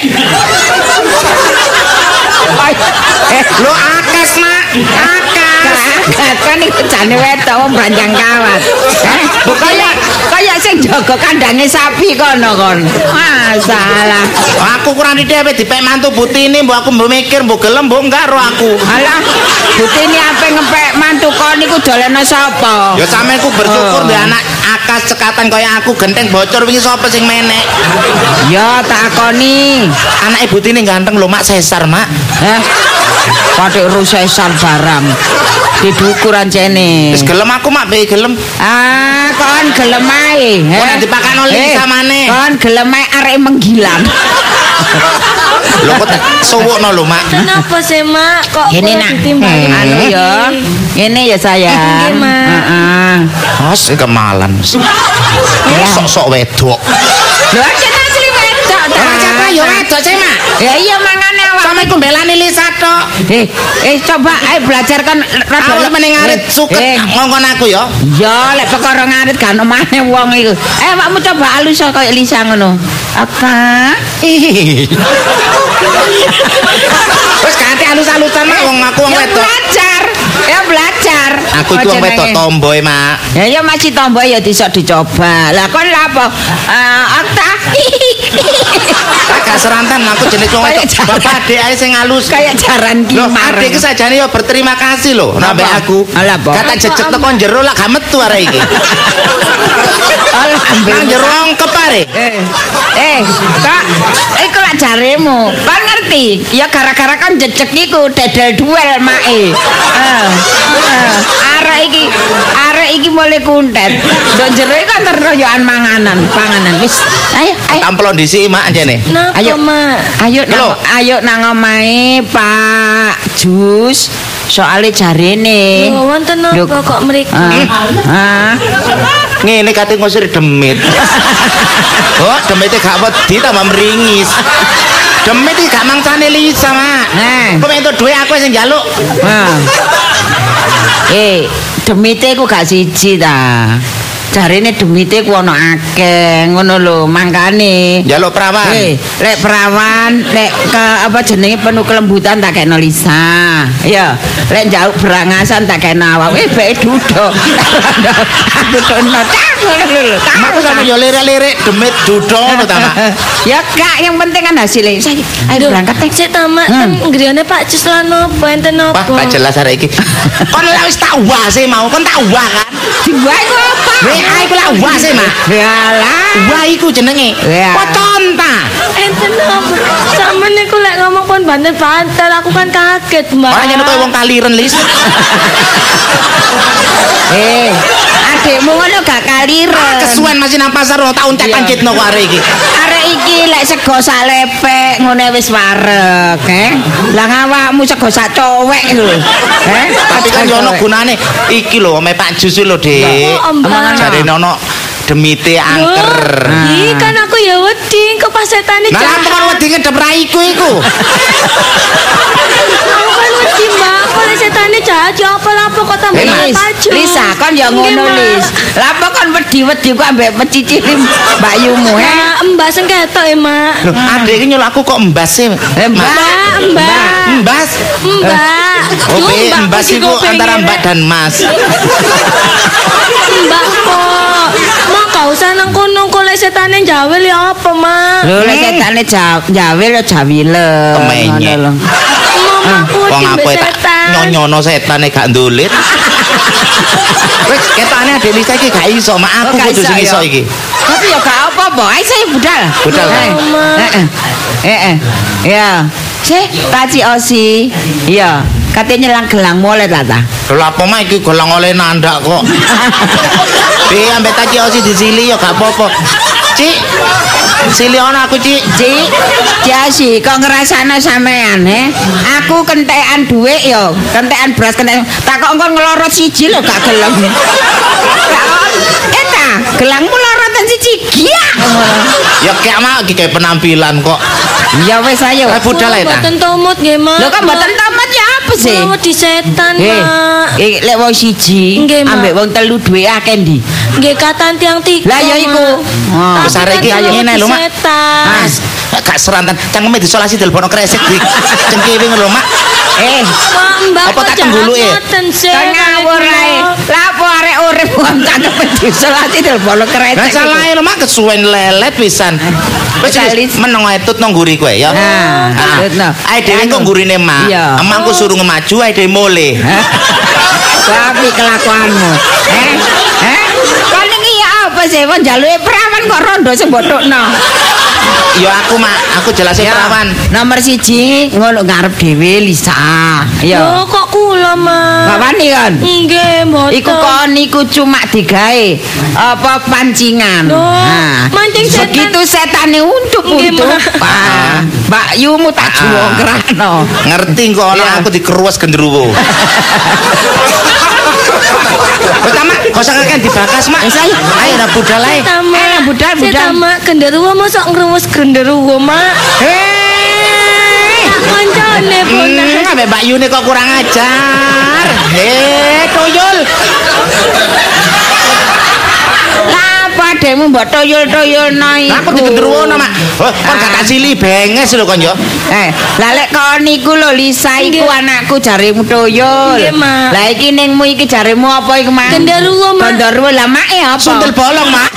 [SPEAKER 4] Lo akes, Mak. Akes.
[SPEAKER 1] Kan iku jane wedok wong branjang kawat. Kaya kaya sing jaga kandange sapi kono kon. Masalah.
[SPEAKER 4] Aku kurang ide ape dipek mantu butine mbok aku mbok mikir mbok gelem mbok enggak ro aku.
[SPEAKER 1] Alah, butine ape ngepek mantu kon niku doleno sapa?
[SPEAKER 4] Ya sampeku bersyukur mbek anak akas cekatan kaya aku genteng bocor wingi sapa sing menek.
[SPEAKER 1] Ya takoni.
[SPEAKER 4] Anake butine ganteng lho Mak sesar, Mak.
[SPEAKER 1] Heh. Patik rusesar barang. Didukur ancene.
[SPEAKER 4] Wis gelem aku Mak be gelem.
[SPEAKER 1] Ah, kon gelem ae.
[SPEAKER 4] Kok nek dipakano Lisa maneh.
[SPEAKER 1] Kon gelem ae arek menggilang.
[SPEAKER 4] Lho kok suwukno lho Mak.
[SPEAKER 5] Kenapa sih, Mak? Kok
[SPEAKER 1] Ini
[SPEAKER 5] kula
[SPEAKER 1] nak
[SPEAKER 5] ditimbali?
[SPEAKER 1] anu ya. Ini ya sayang.
[SPEAKER 5] Nggih, Mak.
[SPEAKER 1] Heeh.
[SPEAKER 4] Mas kemalan. Sok-sok wedok.
[SPEAKER 1] Lho aja asli wedok ta.
[SPEAKER 4] Siapa ya wedok sih Mak?
[SPEAKER 1] Ya iya mangane awak.
[SPEAKER 4] Sampe ku mbelani Lisa tok.
[SPEAKER 1] Eh, eh coba ae belajar kan rada
[SPEAKER 4] Aku meneng ngarit suket ngongkon aku ya.
[SPEAKER 1] Ya, lek perkara ngarit kan omane wong iku. Eh, awakmu coba alus kaya Lisa ngono. Apa?
[SPEAKER 4] Wis ganti alus-alusan Mak wong aku wong
[SPEAKER 1] Ya
[SPEAKER 4] wedok.
[SPEAKER 1] belajar. Ya belajar.
[SPEAKER 4] Aku itu wong wedok tomboy Mak.
[SPEAKER 1] Ya ya masih tomboy ya bisa dicoba. Lah kon lha apa? Eh, Okta.
[SPEAKER 4] Agak serantan aku jenis wong wedok. Bapak adik ae sing halus.
[SPEAKER 1] Kayak jaran
[SPEAKER 4] Loh,
[SPEAKER 1] kimar.
[SPEAKER 4] adik iki sajane yo berterima kasih lho nambah
[SPEAKER 1] Apa?
[SPEAKER 4] aku.
[SPEAKER 1] Alah, apa?
[SPEAKER 4] Kata jejeg teko jero lah gak metu arek iki. Nang jero ongkep arek.
[SPEAKER 1] Eh, eh, Kak, iku lak jaremu. Kan ngerti? Ya gara-gara kan jejeg iku dedel duel mae. Eh, eh, arek iki, arek iki mulai kuntet. Ndok jero iku kan terroyokan manganan, panganan. Wis, ayo, ayo.
[SPEAKER 4] Tamplon dhisik Mak jene.
[SPEAKER 5] Napa,
[SPEAKER 1] Ayo,
[SPEAKER 5] Mak?
[SPEAKER 1] ayo
[SPEAKER 4] Lho.
[SPEAKER 1] nang ayo nang omahe Pak Jus. Soale jarene.
[SPEAKER 5] Lho, wonten napa
[SPEAKER 1] Lho,
[SPEAKER 5] kok mriki?
[SPEAKER 1] Ah, ah.
[SPEAKER 4] ngene kate ngusir demit. Oh, demite gak wedi tambah meringis. Demit iki gak mangsane Lisa, Mak.
[SPEAKER 3] Nah.
[SPEAKER 4] Kok entuk duwe aku sing njaluk.
[SPEAKER 3] Nah. Eh, demite ku gak siji ta. Jarine demite ku ana akeh ngono lho, mangkane.
[SPEAKER 4] Njaluk perawan.
[SPEAKER 3] Eh, lek perawan, lek ke apa jenenge penuh kelembutan tak kena Lisa. Ya, lek njaluk berangasan tak kena awak. Eh, bae duduk. Aku tono tak ngono lho.
[SPEAKER 4] Mak kok sampe yo lirik-lirik demit dudo ngono ta, Mak.
[SPEAKER 3] Ya gak, yang penting kan hasilnya. Saya ayo berangkat tek.
[SPEAKER 5] Sik ta, Mak. Kan griyane Pak Jus lan opo enten opo?
[SPEAKER 4] Wah, gak jelas arek iki. Kon lek wis tak wase mau, kon tak wah kan.
[SPEAKER 3] Diwae ku apa?
[SPEAKER 4] Weh, ae ku lak wase, Mak.
[SPEAKER 3] Yalah.
[SPEAKER 4] Wah iku jenenge.
[SPEAKER 3] Ya.
[SPEAKER 4] Pocon ta.
[SPEAKER 5] Enten opo? Sampeyan niku lek ngomong pun banter-banter, aku kan kaget, Mbak.
[SPEAKER 4] Ora nyentuh wong kaliren, Lis.
[SPEAKER 3] Eh, adekmu ngono gak kaliren.
[SPEAKER 4] Kesuwen masih nang pasar ono tak untek-ancitno kok arek iki.
[SPEAKER 3] Arek iki lek sego sak lepek ngene wis wareg, eh. Lah ngawakmu sego sak cowek lho. Eh,
[SPEAKER 4] Tapi kan yo ono gunane. Iki lho ome Pak Jus lho, Dik.
[SPEAKER 5] Oh, Mbak.
[SPEAKER 4] Jarene ono demite angker.
[SPEAKER 5] Ih, kan aku ya wedi kok pas setane
[SPEAKER 4] Nah,
[SPEAKER 5] jahat.
[SPEAKER 4] apa kan wedi ngedep raiku iku?
[SPEAKER 5] Aku kan wedi, Mbak. Kok lek setane jahat ya apa-apa kok tambah
[SPEAKER 3] Lis,
[SPEAKER 5] Paju.
[SPEAKER 3] Lisa kan ya ngono Lis. Lah apa kon wedi-wedi ku ambek pecicili Mbak Yumu, eh.
[SPEAKER 5] Nah, Mbak sing ketok ya, Mak.
[SPEAKER 4] Loh, adek iki nyulik aku kok embas sih.
[SPEAKER 3] Eh, Mbak.
[SPEAKER 5] Mbak, Mbak.
[SPEAKER 4] Embas.
[SPEAKER 5] Mbak.
[SPEAKER 4] Oh,
[SPEAKER 5] Duh,
[SPEAKER 4] be,
[SPEAKER 5] Mbak,
[SPEAKER 4] embas
[SPEAKER 5] iki
[SPEAKER 4] iku
[SPEAKER 5] kok
[SPEAKER 4] antara
[SPEAKER 5] pengen,
[SPEAKER 4] Mbak dan Mas.
[SPEAKER 5] Mbak kok. Mak gak usah nang kono kok lek setane jawel ya apa, Mak?
[SPEAKER 3] Lho lek setane jawil ya jawile.
[SPEAKER 4] Kemenyek.
[SPEAKER 5] Mamaku
[SPEAKER 4] Wong
[SPEAKER 5] wedi
[SPEAKER 4] aku
[SPEAKER 5] mbek
[SPEAKER 4] tak
[SPEAKER 5] setan.
[SPEAKER 4] nyonyono setane gak ndulit. Wis ketane adek Lisa iki gak iso, mak aku
[SPEAKER 3] Oh, gak
[SPEAKER 4] kudu
[SPEAKER 3] iso,
[SPEAKER 4] sing iso
[SPEAKER 3] ya.
[SPEAKER 4] iki.
[SPEAKER 3] Tapi ya gak apa-apa, ae saya budal.
[SPEAKER 4] Budal.
[SPEAKER 3] Eh, Heeh. Heeh. Ya. Cek, taci osi. Iya, katanya nyelang gelang mulai tata.
[SPEAKER 4] Lha apa mak iki golong oleh nandak kok. Be ambek tak osi disili ya gak apa-apa. Cik. Sili ono aku, Cik.
[SPEAKER 3] Cik, Jasi, kok ngerasana sampean, eh? Aku kentekan duit yo, kentekan beras kentekan. Tak kok engko ngelorot siji lho gak gelem. Takon, eta, gelangmu lorotan siji giak.
[SPEAKER 4] Ya kayak mak iki kayak penampilan kok.
[SPEAKER 3] Ya wis ayo.
[SPEAKER 4] Lah budal ae ta.
[SPEAKER 5] Mboten tomut nggih, Mak.
[SPEAKER 3] Lho kok mboten tamat ya apa sih?
[SPEAKER 5] Kula wedi setan,
[SPEAKER 3] Eh,
[SPEAKER 5] Mak.
[SPEAKER 3] eh, lek wong siji
[SPEAKER 5] Nggih, Mak.
[SPEAKER 3] ambek wong telu duwe akeh ndi?
[SPEAKER 5] Nggih katan tiang tiga.
[SPEAKER 3] Lah ya iku.
[SPEAKER 5] Mak.
[SPEAKER 4] Wis arek iki
[SPEAKER 5] Tapi kan
[SPEAKER 4] ngene lho, Mak.
[SPEAKER 5] setan.
[SPEAKER 4] Mas, gak serantan cangkeme disolasi telepono kresek di cengkewe ngono, Mak.
[SPEAKER 3] Eh,
[SPEAKER 5] Mak, Mbak
[SPEAKER 4] Apa
[SPEAKER 5] kok
[SPEAKER 4] tak
[SPEAKER 5] jahat
[SPEAKER 4] tenggulu, eh?
[SPEAKER 5] ngoten sih.
[SPEAKER 3] kan ngawur ae. Lah apa arek urip wong cangkem disolasi telepon
[SPEAKER 4] Lah
[SPEAKER 3] krecek.
[SPEAKER 4] salah lho, Mak kesuwen lelet pisan. Wis
[SPEAKER 3] Kalis.
[SPEAKER 4] meneng ae tut nang nguri kowe ya.
[SPEAKER 3] Nah,
[SPEAKER 4] Ah,
[SPEAKER 3] tut no.
[SPEAKER 4] ae dhewe kok ngurine Mak.
[SPEAKER 3] Iya.
[SPEAKER 4] Emangku suruh ngemaju ae dhewe mule.
[SPEAKER 3] Tapi kelakuanmu. Eh? Eh? Kon iki ya apa sih wong jaluke perawan kok rondo sing bodhokno.
[SPEAKER 4] Ya aku Mak, aku jelasin
[SPEAKER 3] Ya,
[SPEAKER 4] perawan.
[SPEAKER 3] Nomor siji ngono ngarep dhewe Lisa. Ya.
[SPEAKER 5] Loh, kok kula, Mak?
[SPEAKER 3] Gak wani kan?
[SPEAKER 5] Nggih, mboten.
[SPEAKER 3] Iku kon iku cuma digawe apa pancingan.
[SPEAKER 5] Loh, mancing setan.
[SPEAKER 3] Begitu setane
[SPEAKER 5] Nggih,
[SPEAKER 3] untuk-untuk.
[SPEAKER 5] Mak.
[SPEAKER 3] Ah, Mbak Yumu tak juwo krano.
[SPEAKER 4] Ngerti kok ana
[SPEAKER 3] Iya.
[SPEAKER 4] aku dikeruas gendruwo. Wes ta, Mak, kok sakake dibakas, Mak.
[SPEAKER 3] Wis ayo.
[SPEAKER 4] Ayo dah budal ae.
[SPEAKER 5] Tama.
[SPEAKER 3] Eh, budal, budal.
[SPEAKER 5] Mak, genderuwo mosok ngrumus genderuwo, Mak.
[SPEAKER 3] Hei.
[SPEAKER 5] Tak koncone, Bona.
[SPEAKER 4] Hmm, ambek Mbak Yune kok kurang ajar. Heh, toyol.
[SPEAKER 3] Lah apa adekmu mbok toyol-toyolno iku?
[SPEAKER 4] Aku digendruwono, Mak. Oh, kon gak tak sili benges lho kon yo.
[SPEAKER 3] Eh, lah lek kon niku lho Lisa iku
[SPEAKER 5] Nggih.
[SPEAKER 3] anakku jarimu toyol.
[SPEAKER 5] Nggih, Mak.
[SPEAKER 3] Lah iki ningmu iki jarimu apa iku, Mak?
[SPEAKER 5] Genderuwo, Mak.
[SPEAKER 3] Genderuwo lah Mak e apa?
[SPEAKER 4] Sundel bolong, Mak.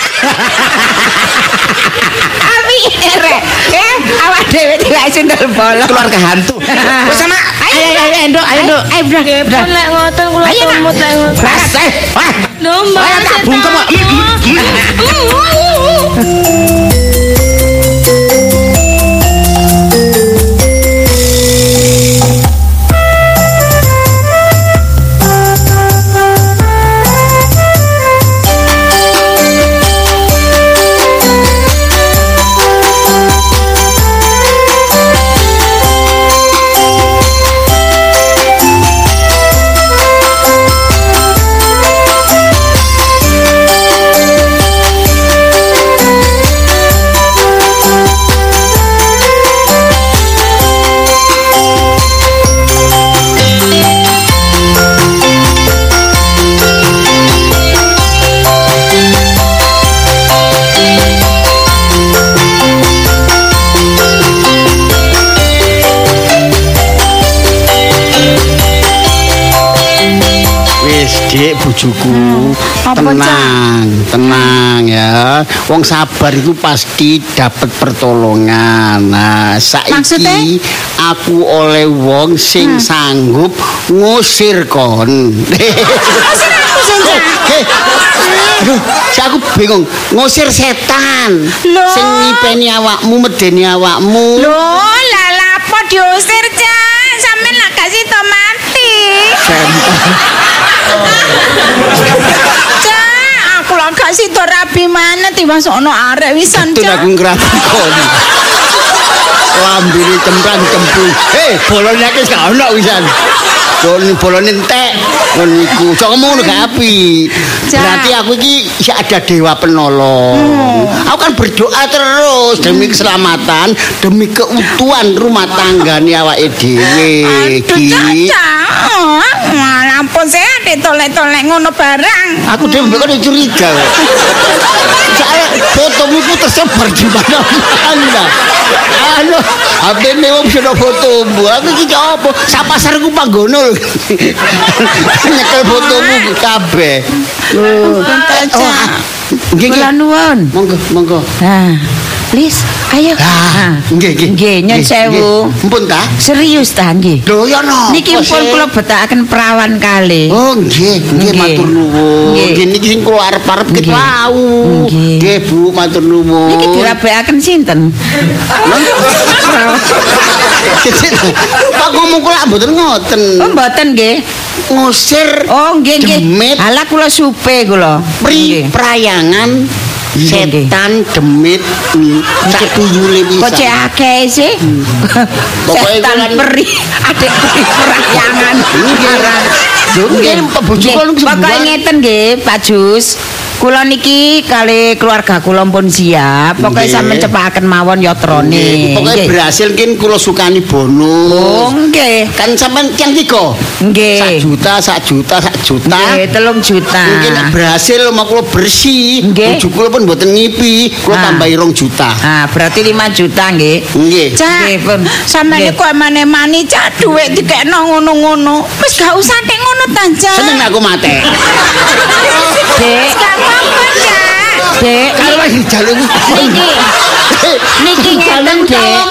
[SPEAKER 3] Abi rek. Eh, awak dhewe diwae sundel bolong.
[SPEAKER 4] Keluarga hantu. Wes sama. Ayo ayo ayo endok, ayo endok.
[SPEAKER 3] Ayo, Bro.
[SPEAKER 5] Nggih, pun lek ngoten kula
[SPEAKER 3] Ayo, Nak.
[SPEAKER 5] tomut lek ngoten.
[SPEAKER 4] Bas, eh. Wah.
[SPEAKER 5] Lho, Mbak.
[SPEAKER 4] Ayo, tak bungkem, Mak. Mm, mm,
[SPEAKER 5] setan.
[SPEAKER 2] bojoku.
[SPEAKER 1] Apa,
[SPEAKER 2] Tenang, tenang ya. Wong sabar itu pasti dapat pertolongan. Nah, saiki
[SPEAKER 1] Maksudnya?
[SPEAKER 2] aku oleh wong sing sanggup ngusir kon.
[SPEAKER 1] Ngusir aku sih, Cak.
[SPEAKER 2] Hei, aduh, si aku bingung. Ngusir setan.
[SPEAKER 1] Loh.
[SPEAKER 2] Sing ngipeni awakmu, medeni awakmu.
[SPEAKER 1] Loh, lala apa diusir, Cak? Sampeyan lak kasih to mati. Cak, aku lak kasih to rabi mana tiba sono arek wisan,
[SPEAKER 2] Betul
[SPEAKER 1] Cak.
[SPEAKER 2] aku ngerti kon. Lambene cemprang-cemprung. Hei, bolone iki gak ono wisan. Bolone bolone entek. Ngono iku. Sok ngono gak apik.
[SPEAKER 1] Cak.
[SPEAKER 2] Berarti aku iki isih ada dewa penolong. Aku kan berdoa terus demi keselamatan, demi keutuhan rumah tanggane awake dhewe
[SPEAKER 1] Aduh,
[SPEAKER 2] iki.
[SPEAKER 1] Cak. Malah ampun sih adek tolek-tolek ngono barang.
[SPEAKER 2] Aku dhewe mbok kan curiga. Saya fotomu ku tersebar di mana-mana. Anu, H P-ne wong sono fotomu. Aku iki apa? Sak pasar ku panggono. Nyekel fotomu kabeh. Oh, nggih nggih.
[SPEAKER 1] Kula nuwun.
[SPEAKER 2] Monggo, monggo.
[SPEAKER 1] Nah, Lis, ayo.
[SPEAKER 2] Ah, nggih nggih.
[SPEAKER 1] Nggih, nyun
[SPEAKER 2] Nggih,
[SPEAKER 1] sewu.
[SPEAKER 2] nggih. Mpun ta?
[SPEAKER 1] Serius ta nggih?
[SPEAKER 2] Lho ya no.
[SPEAKER 1] Niki pun kula betakaken perawan kali.
[SPEAKER 2] Oh nggih, nggih
[SPEAKER 1] Nggih.
[SPEAKER 2] matur nuwun.
[SPEAKER 1] Nggih.
[SPEAKER 2] Nggih niki sing kula arep-arep ket
[SPEAKER 1] Nggih.
[SPEAKER 2] wau.
[SPEAKER 1] Nggih.
[SPEAKER 2] Nggih Bu, matur nuwun.
[SPEAKER 1] Niki dirabekaken sinten?
[SPEAKER 2] Pak ngomong kula mboten ngoten.
[SPEAKER 1] Oh, mboten nggih.
[SPEAKER 2] Ngusir
[SPEAKER 1] Oh, nggih nggih.
[SPEAKER 2] demit,
[SPEAKER 1] Halah kula supe kula.
[SPEAKER 2] pri
[SPEAKER 1] Nggih.
[SPEAKER 2] prayangan
[SPEAKER 1] Nggih, nggih.
[SPEAKER 2] setan demit sak tuyule
[SPEAKER 1] Kok
[SPEAKER 2] pisan.
[SPEAKER 1] cek akeh sih?
[SPEAKER 2] Pokoknya
[SPEAKER 1] Setan
[SPEAKER 2] kan-
[SPEAKER 1] peri, adek peri perahyangan.
[SPEAKER 2] Lho, nggih, Pak Bojo
[SPEAKER 1] Nggih,
[SPEAKER 2] kula niku
[SPEAKER 1] Pokoke
[SPEAKER 2] sembuhan.
[SPEAKER 1] ngeten nggih, Pak Jus. Kula niki kali keluarga kula pun siap. Pokoke
[SPEAKER 2] Nggih.
[SPEAKER 1] sampeyan cepaken mawon yatrane.
[SPEAKER 2] Nggih, Pokoknya
[SPEAKER 1] Nggih.
[SPEAKER 2] berhasil kin kula sukani bonus.
[SPEAKER 1] Oh, nggih.
[SPEAKER 2] Kan sampean yang tiga.
[SPEAKER 1] Nggih.
[SPEAKER 2] Sak juta, sak juta, sak juta.
[SPEAKER 1] Nggih, telung juta.
[SPEAKER 2] Mungkin berhasil mau kula bersih.
[SPEAKER 1] Nggih.
[SPEAKER 2] Bojo kula pun mboten ngipi, kula
[SPEAKER 1] Ah.
[SPEAKER 2] tambahi rong juta.
[SPEAKER 1] Ah, berarti lima juta nggih.
[SPEAKER 2] Nggih.
[SPEAKER 1] Cak,
[SPEAKER 5] Nggih, pun.
[SPEAKER 1] sampeyan
[SPEAKER 5] Nggih.
[SPEAKER 1] niku emane-mani cak dhuwit dikekno ngono-ngono. Wis gak usah tek ngono ta, Cak.
[SPEAKER 2] Seneng aku mate.
[SPEAKER 1] Dek. Gak apa-apa, Cak. Dek,
[SPEAKER 2] Kalau lagi jaluk
[SPEAKER 1] niki niki ngeten, Dek.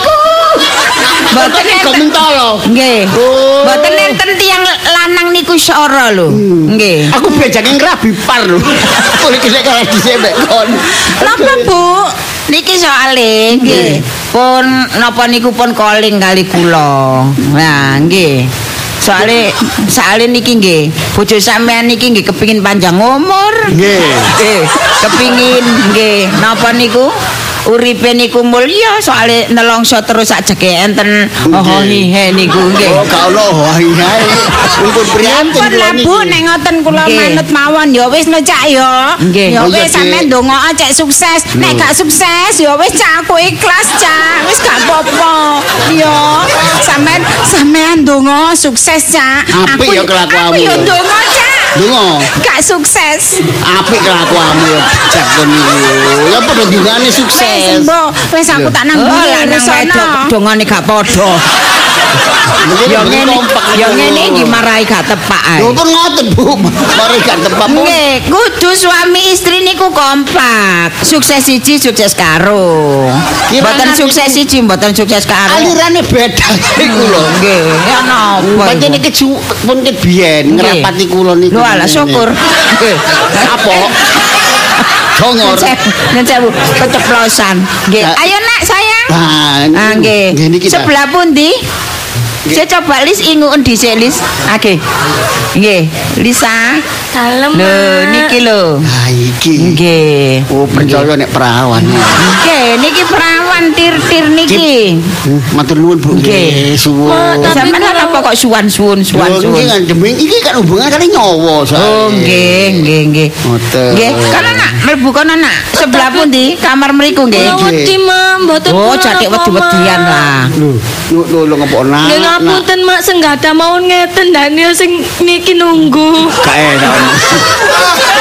[SPEAKER 1] Mboten
[SPEAKER 2] kok
[SPEAKER 1] enten.
[SPEAKER 2] mentolo.
[SPEAKER 1] Nggih.
[SPEAKER 2] Oh.
[SPEAKER 1] Mboten enten tiyang lanang niku sora lho. Nggih.
[SPEAKER 2] Aku bejane ngrabi par lho. Boleh kene kalah dhisik mek kon.
[SPEAKER 1] Napa, Bu? Niki soale nggih. Pun napa niku pun calling kali kula. Nah, nggih. Soale soale niki nggih, bojo sampean niki nggih kepingin panjang umur.
[SPEAKER 2] Nggih.
[SPEAKER 1] Nggih, kepingin nggih napa niku? Uripe niku mulya soale nelongso terus sak jeke enten oh hihe niku nggih.
[SPEAKER 2] Oh, gak ono wae. Untuk prianten
[SPEAKER 1] Pun lah
[SPEAKER 2] kula
[SPEAKER 1] Bu,
[SPEAKER 2] niki.
[SPEAKER 1] nek ngoten kula
[SPEAKER 5] Nggih.
[SPEAKER 1] manut mawon ya wis no Cak ya.
[SPEAKER 5] Nggih.
[SPEAKER 1] Ya
[SPEAKER 2] Oh, iya,
[SPEAKER 1] wis
[SPEAKER 2] Dik.
[SPEAKER 1] sampean ndonga cek sukses. Nek gak sukses ya wis Cak aku ikhlas Cak. Wis gak apa-apa. Ya, sampean sampean ndonga sukses Cak.
[SPEAKER 2] Apik ya kelakuanmu.
[SPEAKER 1] Aku ya ndonga Cak.
[SPEAKER 2] Donga.
[SPEAKER 1] Gak sukses.
[SPEAKER 2] Apik kelakuanmu ya jak kon niku. Ya padha dungane
[SPEAKER 1] Wis
[SPEAKER 2] sukses.
[SPEAKER 1] mbok, wis aku tak nang
[SPEAKER 5] Oh,
[SPEAKER 1] mburi
[SPEAKER 5] lanang wedok
[SPEAKER 1] dongane gak padha.
[SPEAKER 2] Mungkin
[SPEAKER 1] Ya
[SPEAKER 2] mungkin
[SPEAKER 1] ngene,
[SPEAKER 2] kompak
[SPEAKER 1] ya
[SPEAKER 2] niku.
[SPEAKER 1] ngene iki marai gak tepak ae.
[SPEAKER 2] Lho pun ngoten Bu. Mari gak tepak pun.
[SPEAKER 1] Nggih, kudu suami istri niku kompak. Sukses siji, sukses karo.
[SPEAKER 2] Gimana
[SPEAKER 1] Mboten
[SPEAKER 2] niku?
[SPEAKER 1] sukses siji, mboten sukses karo.
[SPEAKER 2] Alirane beda niku lho.
[SPEAKER 1] Nggih, ya napa?
[SPEAKER 2] Pancen iki ju- pun ket biyen
[SPEAKER 1] Nggih.
[SPEAKER 2] ngrapati kula niku.
[SPEAKER 1] Lho alah syukur. Nggih.
[SPEAKER 2] Apa? Dongor.
[SPEAKER 1] Nen sewu keceplosan. Nggih,
[SPEAKER 2] Nah.
[SPEAKER 1] ayo nak sayang.
[SPEAKER 2] Ah,
[SPEAKER 1] Ah nggih.
[SPEAKER 2] nggih niki ta.
[SPEAKER 1] Sebelah pundi? Saya coba Lis inguken dhisik Lis. Oke. Nggih, Lisa.
[SPEAKER 5] Dalem.
[SPEAKER 1] Lho,
[SPEAKER 5] Mak.
[SPEAKER 1] niki lho.
[SPEAKER 2] Ah iki.
[SPEAKER 1] Nggih.
[SPEAKER 2] Oh, percaya nek perawan.
[SPEAKER 1] Nggih, niki perawan tir-tir niki.
[SPEAKER 2] Hmm, Matur nuwun Bu.
[SPEAKER 1] Nggih.
[SPEAKER 2] Suwun.
[SPEAKER 5] Tapi
[SPEAKER 1] Sampeyan
[SPEAKER 5] kalau-
[SPEAKER 1] apa kok suwan-suwun
[SPEAKER 2] Lho,
[SPEAKER 1] suwan-suwun?
[SPEAKER 2] iki kan deming iki kan hubungan kali nyawa soalnya.
[SPEAKER 1] Oh, nggih, nggih, nggih.
[SPEAKER 2] Ngoten.
[SPEAKER 1] Nggih, kono nak mlebu kono nak. Sebelah pundi? Kamar mriku nggih.
[SPEAKER 5] Kula wedi, Mak, mboten
[SPEAKER 1] Oh,
[SPEAKER 5] kula
[SPEAKER 1] jake
[SPEAKER 5] apa,
[SPEAKER 1] wedi-wedian
[SPEAKER 5] Mak.
[SPEAKER 1] lah.
[SPEAKER 2] Lho, lho lho lho ngopo nak.
[SPEAKER 5] Nggih ngapunten Mak, senggada mawon ngeten Daniel sing niki nunggu.
[SPEAKER 2] Gak enak.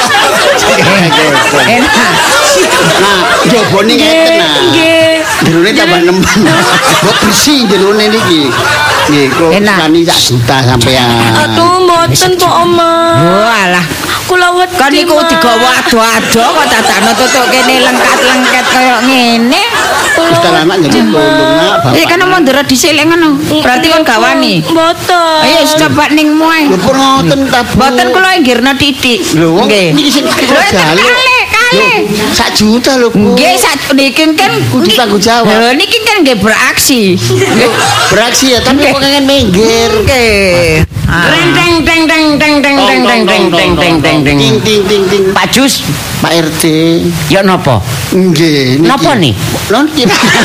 [SPEAKER 1] Enak.
[SPEAKER 2] Nah, jobone ngeten nah.
[SPEAKER 5] Nggih.
[SPEAKER 2] Jerone Ini tambah nemen. Kok bersih jerone niki. Nggih, kula tani sak juta sampean.
[SPEAKER 5] Aduh, mboten kok, Oma.
[SPEAKER 1] Walah.
[SPEAKER 5] Kula wedi.
[SPEAKER 1] Kan niku digawa ado-ado kok dadakno tutuk kene lengkat-lengket kaya ngene.
[SPEAKER 2] Wis anak jadi tolong nak bapak.
[SPEAKER 1] Eh kan mundur dhisik lek ngono. Berarti kon gak wani.
[SPEAKER 5] Mboten.
[SPEAKER 1] Ayo coba ning muai.
[SPEAKER 2] Lho pun ngoten ta.
[SPEAKER 1] Mboten kula inggirna titik.
[SPEAKER 2] Lho
[SPEAKER 1] nggih.
[SPEAKER 2] niki sing kula jaluk.
[SPEAKER 1] Kale.
[SPEAKER 2] Sak juta lho, Bu.
[SPEAKER 1] Nggih, sak niki kan
[SPEAKER 2] kudu tanggung jawab.
[SPEAKER 1] Lho niki kan nggih beraksi.
[SPEAKER 2] Beraksi ya, tapi kok kangen minggir.
[SPEAKER 1] Nggih.
[SPEAKER 3] Teng teng teng teng teng teng teng teng teng teng teng teng teng.
[SPEAKER 2] Ting ting ting ting.
[SPEAKER 3] Pak Jus,
[SPEAKER 2] Pak R T.
[SPEAKER 3] ya napa?
[SPEAKER 2] Nggih.
[SPEAKER 3] Napa nih?
[SPEAKER 2] Lon iki.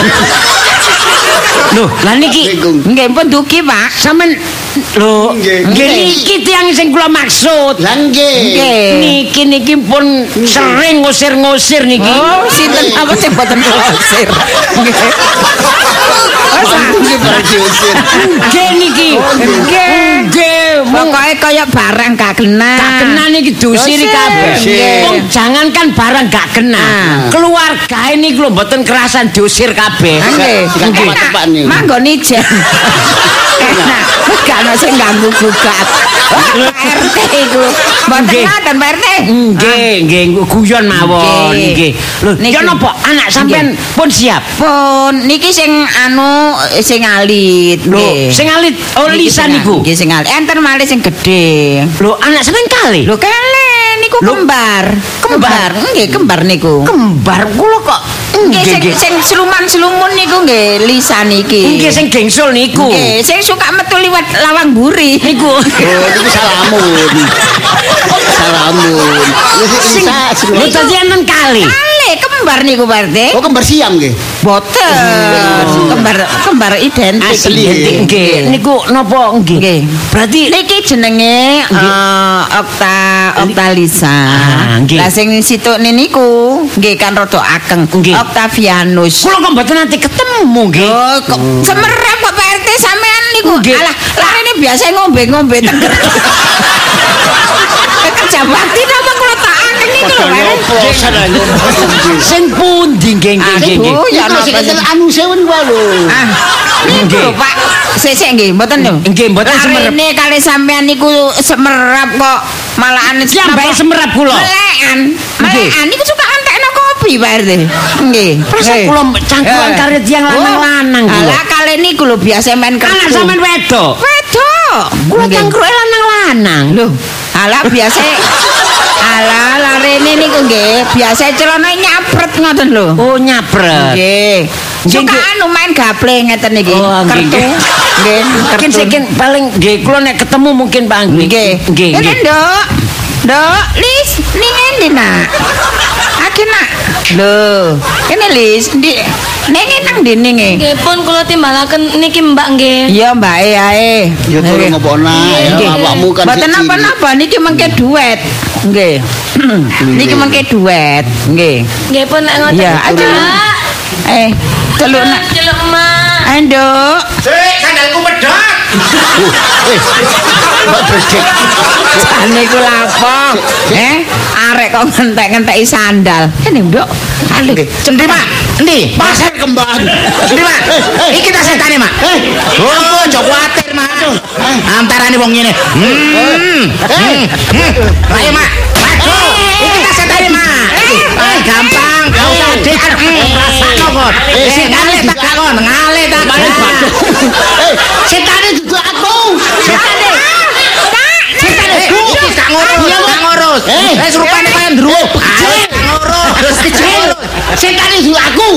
[SPEAKER 3] Loh, lah niki
[SPEAKER 1] Nggih pun dugi, Pak.
[SPEAKER 3] sampean lho,
[SPEAKER 2] Nggih.
[SPEAKER 3] nggih niki tiyang sing kula maksud.
[SPEAKER 2] Lah nggih.
[SPEAKER 1] Nggih.
[SPEAKER 3] Niki niki pun sering ngusir-ngusir niki.
[SPEAKER 1] Oh, sinten apa sing boten ngusir. Nggih.
[SPEAKER 2] Nggih berarti usir.
[SPEAKER 3] Nggih niki. Nggih, nggih.
[SPEAKER 1] Pokoke kaya barang gak kena.
[SPEAKER 3] Gak kena niki diusiri
[SPEAKER 1] Dosir.
[SPEAKER 3] kabeh.
[SPEAKER 2] Nggih.
[SPEAKER 3] Wong jangankan barang gak kena. Keluarga ini lho mboten kerasan diusir kabeh.
[SPEAKER 1] Nggih.
[SPEAKER 2] Gak tepat-tepat niku.
[SPEAKER 1] Manggo nijen. Enak. Gak ono sing ganggu gugat. Pak R T iku. Mboten
[SPEAKER 3] Nggih.
[SPEAKER 1] ngoten Pak R T.
[SPEAKER 3] Nggih, nggih guyon mawon
[SPEAKER 1] Nggih.
[SPEAKER 3] nggih. Lho,
[SPEAKER 1] Niki.
[SPEAKER 3] ya napa anak sampean pun siap?
[SPEAKER 1] Pun niki sing anu sing alit.
[SPEAKER 3] Lho,
[SPEAKER 1] nggih.
[SPEAKER 3] sing alit oh
[SPEAKER 1] Niki
[SPEAKER 3] lisan
[SPEAKER 1] sing-
[SPEAKER 3] niku.
[SPEAKER 1] Nggih sing alit. Enten malih sing gedhe.
[SPEAKER 3] Lho, anak sampean kali.
[SPEAKER 1] Lho kele niku
[SPEAKER 3] Lho,
[SPEAKER 1] kembar. Kembar. Nggih, kembar niku.
[SPEAKER 3] Kembar kula kok.
[SPEAKER 1] Nggih sing sing seluman-selumun niku nggih lisan iki.
[SPEAKER 3] Nggih sing gengsul niku.
[SPEAKER 1] Nggih, sing suka metu liwat lawang buri niku.
[SPEAKER 2] Oh, niku salamun. Salamun. Wis
[SPEAKER 3] Sing
[SPEAKER 2] bisa
[SPEAKER 3] lho dadi enten kali.
[SPEAKER 1] Kale kembar niku Pak R T.
[SPEAKER 2] Oh kembar siam nggih.
[SPEAKER 1] Boten. Kembar kembar identik.
[SPEAKER 2] Asli.
[SPEAKER 3] Identik, nggih. Niku napa nggih?
[SPEAKER 1] Nggih.
[SPEAKER 3] Berarti
[SPEAKER 1] Niki jenenge eh, Okta Oktalisa.
[SPEAKER 3] Ah, nggih.
[SPEAKER 1] Lah sing situkne niku nggih kan rada ageng.
[SPEAKER 3] Nggih.
[SPEAKER 1] Octavianus.
[SPEAKER 3] kula kok mboten nanti ketemu nggih.
[SPEAKER 1] Oh, kok semerap kok Pak R T sampean niku.
[SPEAKER 3] Nggih.
[SPEAKER 1] Alah, larene biasa ngombe-ngombe tenger. Kerja bakti napa kula tak akeh niku lho, Pak R T.
[SPEAKER 3] Sing pundi nggih nggih nggih. nggih.
[SPEAKER 1] Aduh, ya
[SPEAKER 2] Niku sing
[SPEAKER 1] napa
[SPEAKER 2] enten anu sewen wae lho.
[SPEAKER 1] Ah, niku lho, Pak. Sesek nggih, mboten lho.
[SPEAKER 3] Nggih, mboten semerap.
[SPEAKER 1] Larene kali sampean niku semerap kok malahan
[SPEAKER 3] Piyambake semerap kula.
[SPEAKER 1] Melekan. Melekan niku suka antekno kopi, Pak R T. Nggih.
[SPEAKER 3] Perasa
[SPEAKER 1] Nggih.
[SPEAKER 3] kula cangkulan
[SPEAKER 1] Eh.
[SPEAKER 3] karo tiyang lanang-lanang kula.
[SPEAKER 1] Alah kali niku lho biasa main kertu.
[SPEAKER 3] Anak sampean wedok.
[SPEAKER 1] Wedok.
[SPEAKER 3] Kula
[SPEAKER 1] Nggih.
[SPEAKER 3] cangkruke lanang-lanang.
[SPEAKER 1] Lho, alah biasa alah larene niku nggih, biasa celana nyapret ngoten lho.
[SPEAKER 3] Oh nyapret.
[SPEAKER 1] Nggih.
[SPEAKER 3] Nggih,
[SPEAKER 1] Suka
[SPEAKER 3] nggih.
[SPEAKER 1] anu main gaple ngeten iki.
[SPEAKER 3] Oh, nggih,
[SPEAKER 1] Kertu.
[SPEAKER 3] nggih.
[SPEAKER 1] Nggih,
[SPEAKER 3] Mungkin
[SPEAKER 1] kertu.
[SPEAKER 3] sekin paling nggih kula nek ketemu mungkin Pak Anggi.
[SPEAKER 1] Nggih.
[SPEAKER 3] Nggih,
[SPEAKER 1] Ini,
[SPEAKER 3] nggih.
[SPEAKER 1] Nduk. Nduk, Lis, ning endi, Nak? Aki, Nak. Lho, kene Lis, ndi ning nang ndi ning e?
[SPEAKER 5] Nggih pun kula timbalaken niki Mbak nggih.
[SPEAKER 1] Iya, Mbak e ae.
[SPEAKER 2] Ya tolong apa ana ya
[SPEAKER 1] Nggih.
[SPEAKER 2] awakmu kan
[SPEAKER 1] Mboten
[SPEAKER 2] siji.
[SPEAKER 1] napa-napa niki mengke duet. Nggih. Niki mengke duet. Nggih.
[SPEAKER 5] Nggih pun nek ngoten.
[SPEAKER 1] Iya, aja.
[SPEAKER 5] Mbak.
[SPEAKER 1] Eh, celuk Nak.
[SPEAKER 5] Celuk Mak.
[SPEAKER 1] Ayo, Nduk.
[SPEAKER 4] Sik, sandalku pedhot.
[SPEAKER 2] Eh, Mbak Bredek.
[SPEAKER 1] Jane iku lapo? Eh, arek kok ngentek-ngenteki sandal. Kene, Nduk. Aduh.
[SPEAKER 4] Cendi, Mak. Endi?
[SPEAKER 2] Pasar kembang.
[SPEAKER 4] Endi, Mak? Iki tas setane, Mak. Oh, aja kuwatir, Mak. Antarane wong ngene. Hmm. Hmm. Hmm. Ayo, Mak. Aduh, iki tas setane, Mak. Ah, gampang, gak usah dik. Rasakno kok.
[SPEAKER 2] Eh,
[SPEAKER 4] Sing ngalih tak kakon, ngalih tak.
[SPEAKER 2] Eh, setane dudu aku.
[SPEAKER 4] Setane. Setane. Iki gak ngurus, gak ngurus.
[SPEAKER 2] Eh.
[SPEAKER 4] Wis rupane kaya ndruwo. Ayo, gak ngurus. Kecil.
[SPEAKER 2] Setane dudu aku.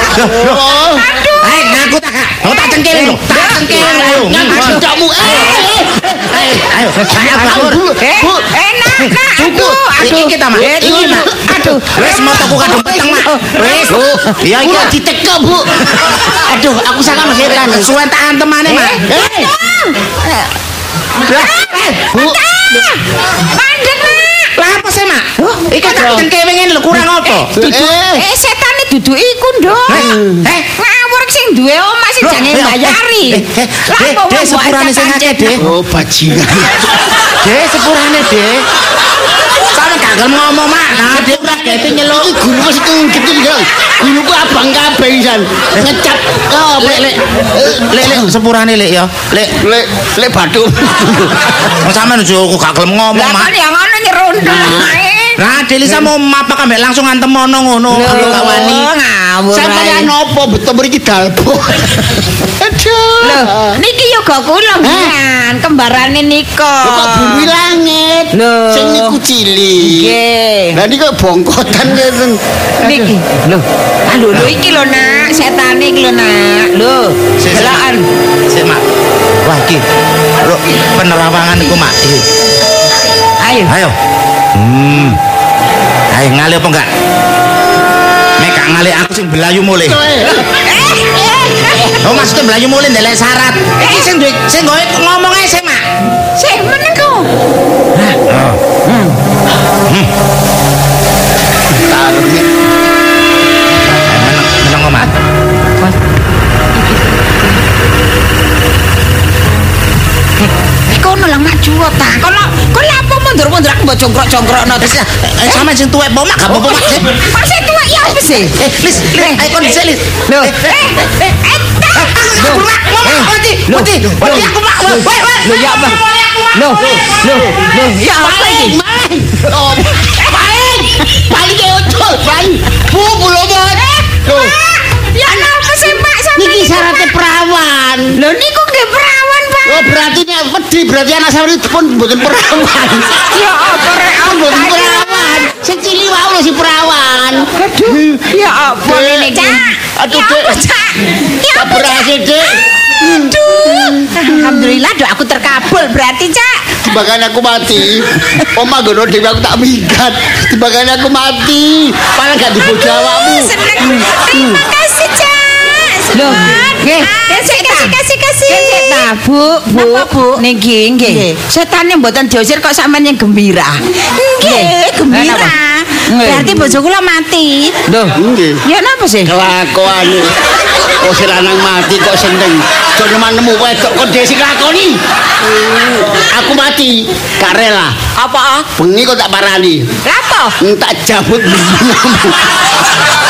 [SPEAKER 2] Oh.
[SPEAKER 4] Ayo ngaku tak Kak. Oh tak cengkelin lho. Tak cengkelin lho.
[SPEAKER 2] Ngaku kamu. Eh.
[SPEAKER 4] Ayo, ayo. Saya kabur.
[SPEAKER 1] Eh,
[SPEAKER 2] Bu.
[SPEAKER 1] enak, Nak.
[SPEAKER 4] Cukup.
[SPEAKER 1] Aduh,
[SPEAKER 4] Iki ta, Mak. Iki, Mak.
[SPEAKER 1] Aduh.
[SPEAKER 4] Wis motoku kadung peteng, Mak. Wis. Iya iki.
[SPEAKER 2] Kula diteke, Bu.
[SPEAKER 4] Aduh, aku sangat setan. Suwen tak antemane, Mak.
[SPEAKER 2] Eh. Bu.
[SPEAKER 1] Mandek, Nak.
[SPEAKER 4] Lah apa sih, Mak? Iki tak cengkewe ngene lho kurang apa?
[SPEAKER 2] Eh.
[SPEAKER 1] Eh, setane dudu iku, Nduk.
[SPEAKER 4] Eh.
[SPEAKER 1] Ngawur sing duwe omah sing jane mbayari.
[SPEAKER 4] Eh,
[SPEAKER 1] Lah
[SPEAKER 4] Dek,
[SPEAKER 1] kok
[SPEAKER 4] Dek,
[SPEAKER 1] mbok
[SPEAKER 4] sepurane sing akeh, Dek.
[SPEAKER 2] Oh, bajingan.
[SPEAKER 4] Dek, sepurane, Dek. Sampe gak gak gelem ngomong, Mak. Nah, dia ora kete nyeluk.
[SPEAKER 2] Iki guru wis kecil ya. Guru ku abang kabeh pisan. Ngecap. Oh,
[SPEAKER 4] Lek lek lek lek sepurane lek ya. Lek
[SPEAKER 2] lek lek batu.
[SPEAKER 4] Kok sampean ojo gak gelem ngomong,
[SPEAKER 1] Lah
[SPEAKER 4] Mak.
[SPEAKER 1] kan yang ngono nyerundel.
[SPEAKER 4] Nah, Delisa mau mapak ambek langsung antem mono ngono. Kalau gak wani.
[SPEAKER 1] Ngawur.
[SPEAKER 2] Sampeyan opo beto mriki dalpo. Aduh.
[SPEAKER 1] Lho, niki yoga kula ngan, kembarane nika.
[SPEAKER 2] Lho kok bumi langit.
[SPEAKER 1] Lho.
[SPEAKER 2] Sing niku cilik.
[SPEAKER 1] Nggih.
[SPEAKER 2] Lah niki kok bongkotan ngeten.
[SPEAKER 1] Niki. Lho. Ah lho lho iki lho Nak, setane iki lho Nak. Lho, delokan.
[SPEAKER 4] Sik, Mak. Wah, iki. Lho, penerawangan iku, Mak. Iki.
[SPEAKER 1] Ayo.
[SPEAKER 4] Ayo. Hmm. Ayo ngali apa enggak? Nek gak ngali aku sing belayu mulih. Oh, maksudnya belayu mulih ndelek syarat. Iki sing duwe sing gowe ngomong ae sih, Mak.
[SPEAKER 1] Sik menengko.
[SPEAKER 4] Oh. Hmm. Hmm.
[SPEAKER 2] Taruh nih.
[SPEAKER 4] Meneng meneng Mak.
[SPEAKER 1] Kono lah maju ta. Kono kono apa mundur-mundur aku mbok jongkrok-jongkrokno terus.
[SPEAKER 4] Eh, sama sing tuwek po, Mak, gak apa-apa, Mak. Sik.
[SPEAKER 1] Masih tua ya apa sih?
[SPEAKER 4] Eh, Lis, Lis, ayo kon dhisik, Lis.
[SPEAKER 1] Lho.
[SPEAKER 4] Eh, eh, eh. Aku Mak, ngomong mati. Mati. Mati aku, Mak. Woi, woi.
[SPEAKER 1] Lho ya apa? Lho, lho, lho, ya apa iki?
[SPEAKER 2] Maling. Oh, maling. Maling ke ucul, maling. Bu, lho, Bos. Lho,
[SPEAKER 1] Ya napa sih Pak sampe?
[SPEAKER 2] niki syaratnya perawan.
[SPEAKER 1] Lho niku nggih perawan, Pak.
[SPEAKER 2] Oh, berarti nek wedi berarti anak sampeyan pun mboten perawan.
[SPEAKER 1] Ya apa rek
[SPEAKER 2] Mboten perawan. Sing cilik wae lho si perawan.
[SPEAKER 1] Aduh, ya apa ini, Cak?
[SPEAKER 2] Aduh,
[SPEAKER 1] Ya
[SPEAKER 2] Dek.
[SPEAKER 1] apa, Cak? Ya
[SPEAKER 2] Tak
[SPEAKER 1] apa,
[SPEAKER 2] berhasil, Dek.
[SPEAKER 1] Aduh. Alhamdulillah doaku terkabul berarti, Cak.
[SPEAKER 2] Timbangane aku mati. Oma gono dhewe aku tak minggat. Timbangane aku mati. Paling gak dibojo awakmu.
[SPEAKER 1] Seneng. Terima kasih, Cak.
[SPEAKER 5] Loh,
[SPEAKER 1] nggih, kasih kasih kasih kasih. Ta, Bu, Bu.
[SPEAKER 5] Napa, Bu?
[SPEAKER 1] Niki nggih. Setane mboten diusir kok sampean yang gembira. Nggih, gembira. Berarti bojo kula mati.
[SPEAKER 2] Loh, nggih.
[SPEAKER 1] Ya napa sih?
[SPEAKER 2] Kelakuane. Kok si lanang mati kok seneng. Jono nemu wedok kok dhewe sing lakoni. Aku mati, gak rela.
[SPEAKER 1] Apa?
[SPEAKER 2] Bengi kok tak parani.
[SPEAKER 1] Lapo?
[SPEAKER 2] Tak jabut.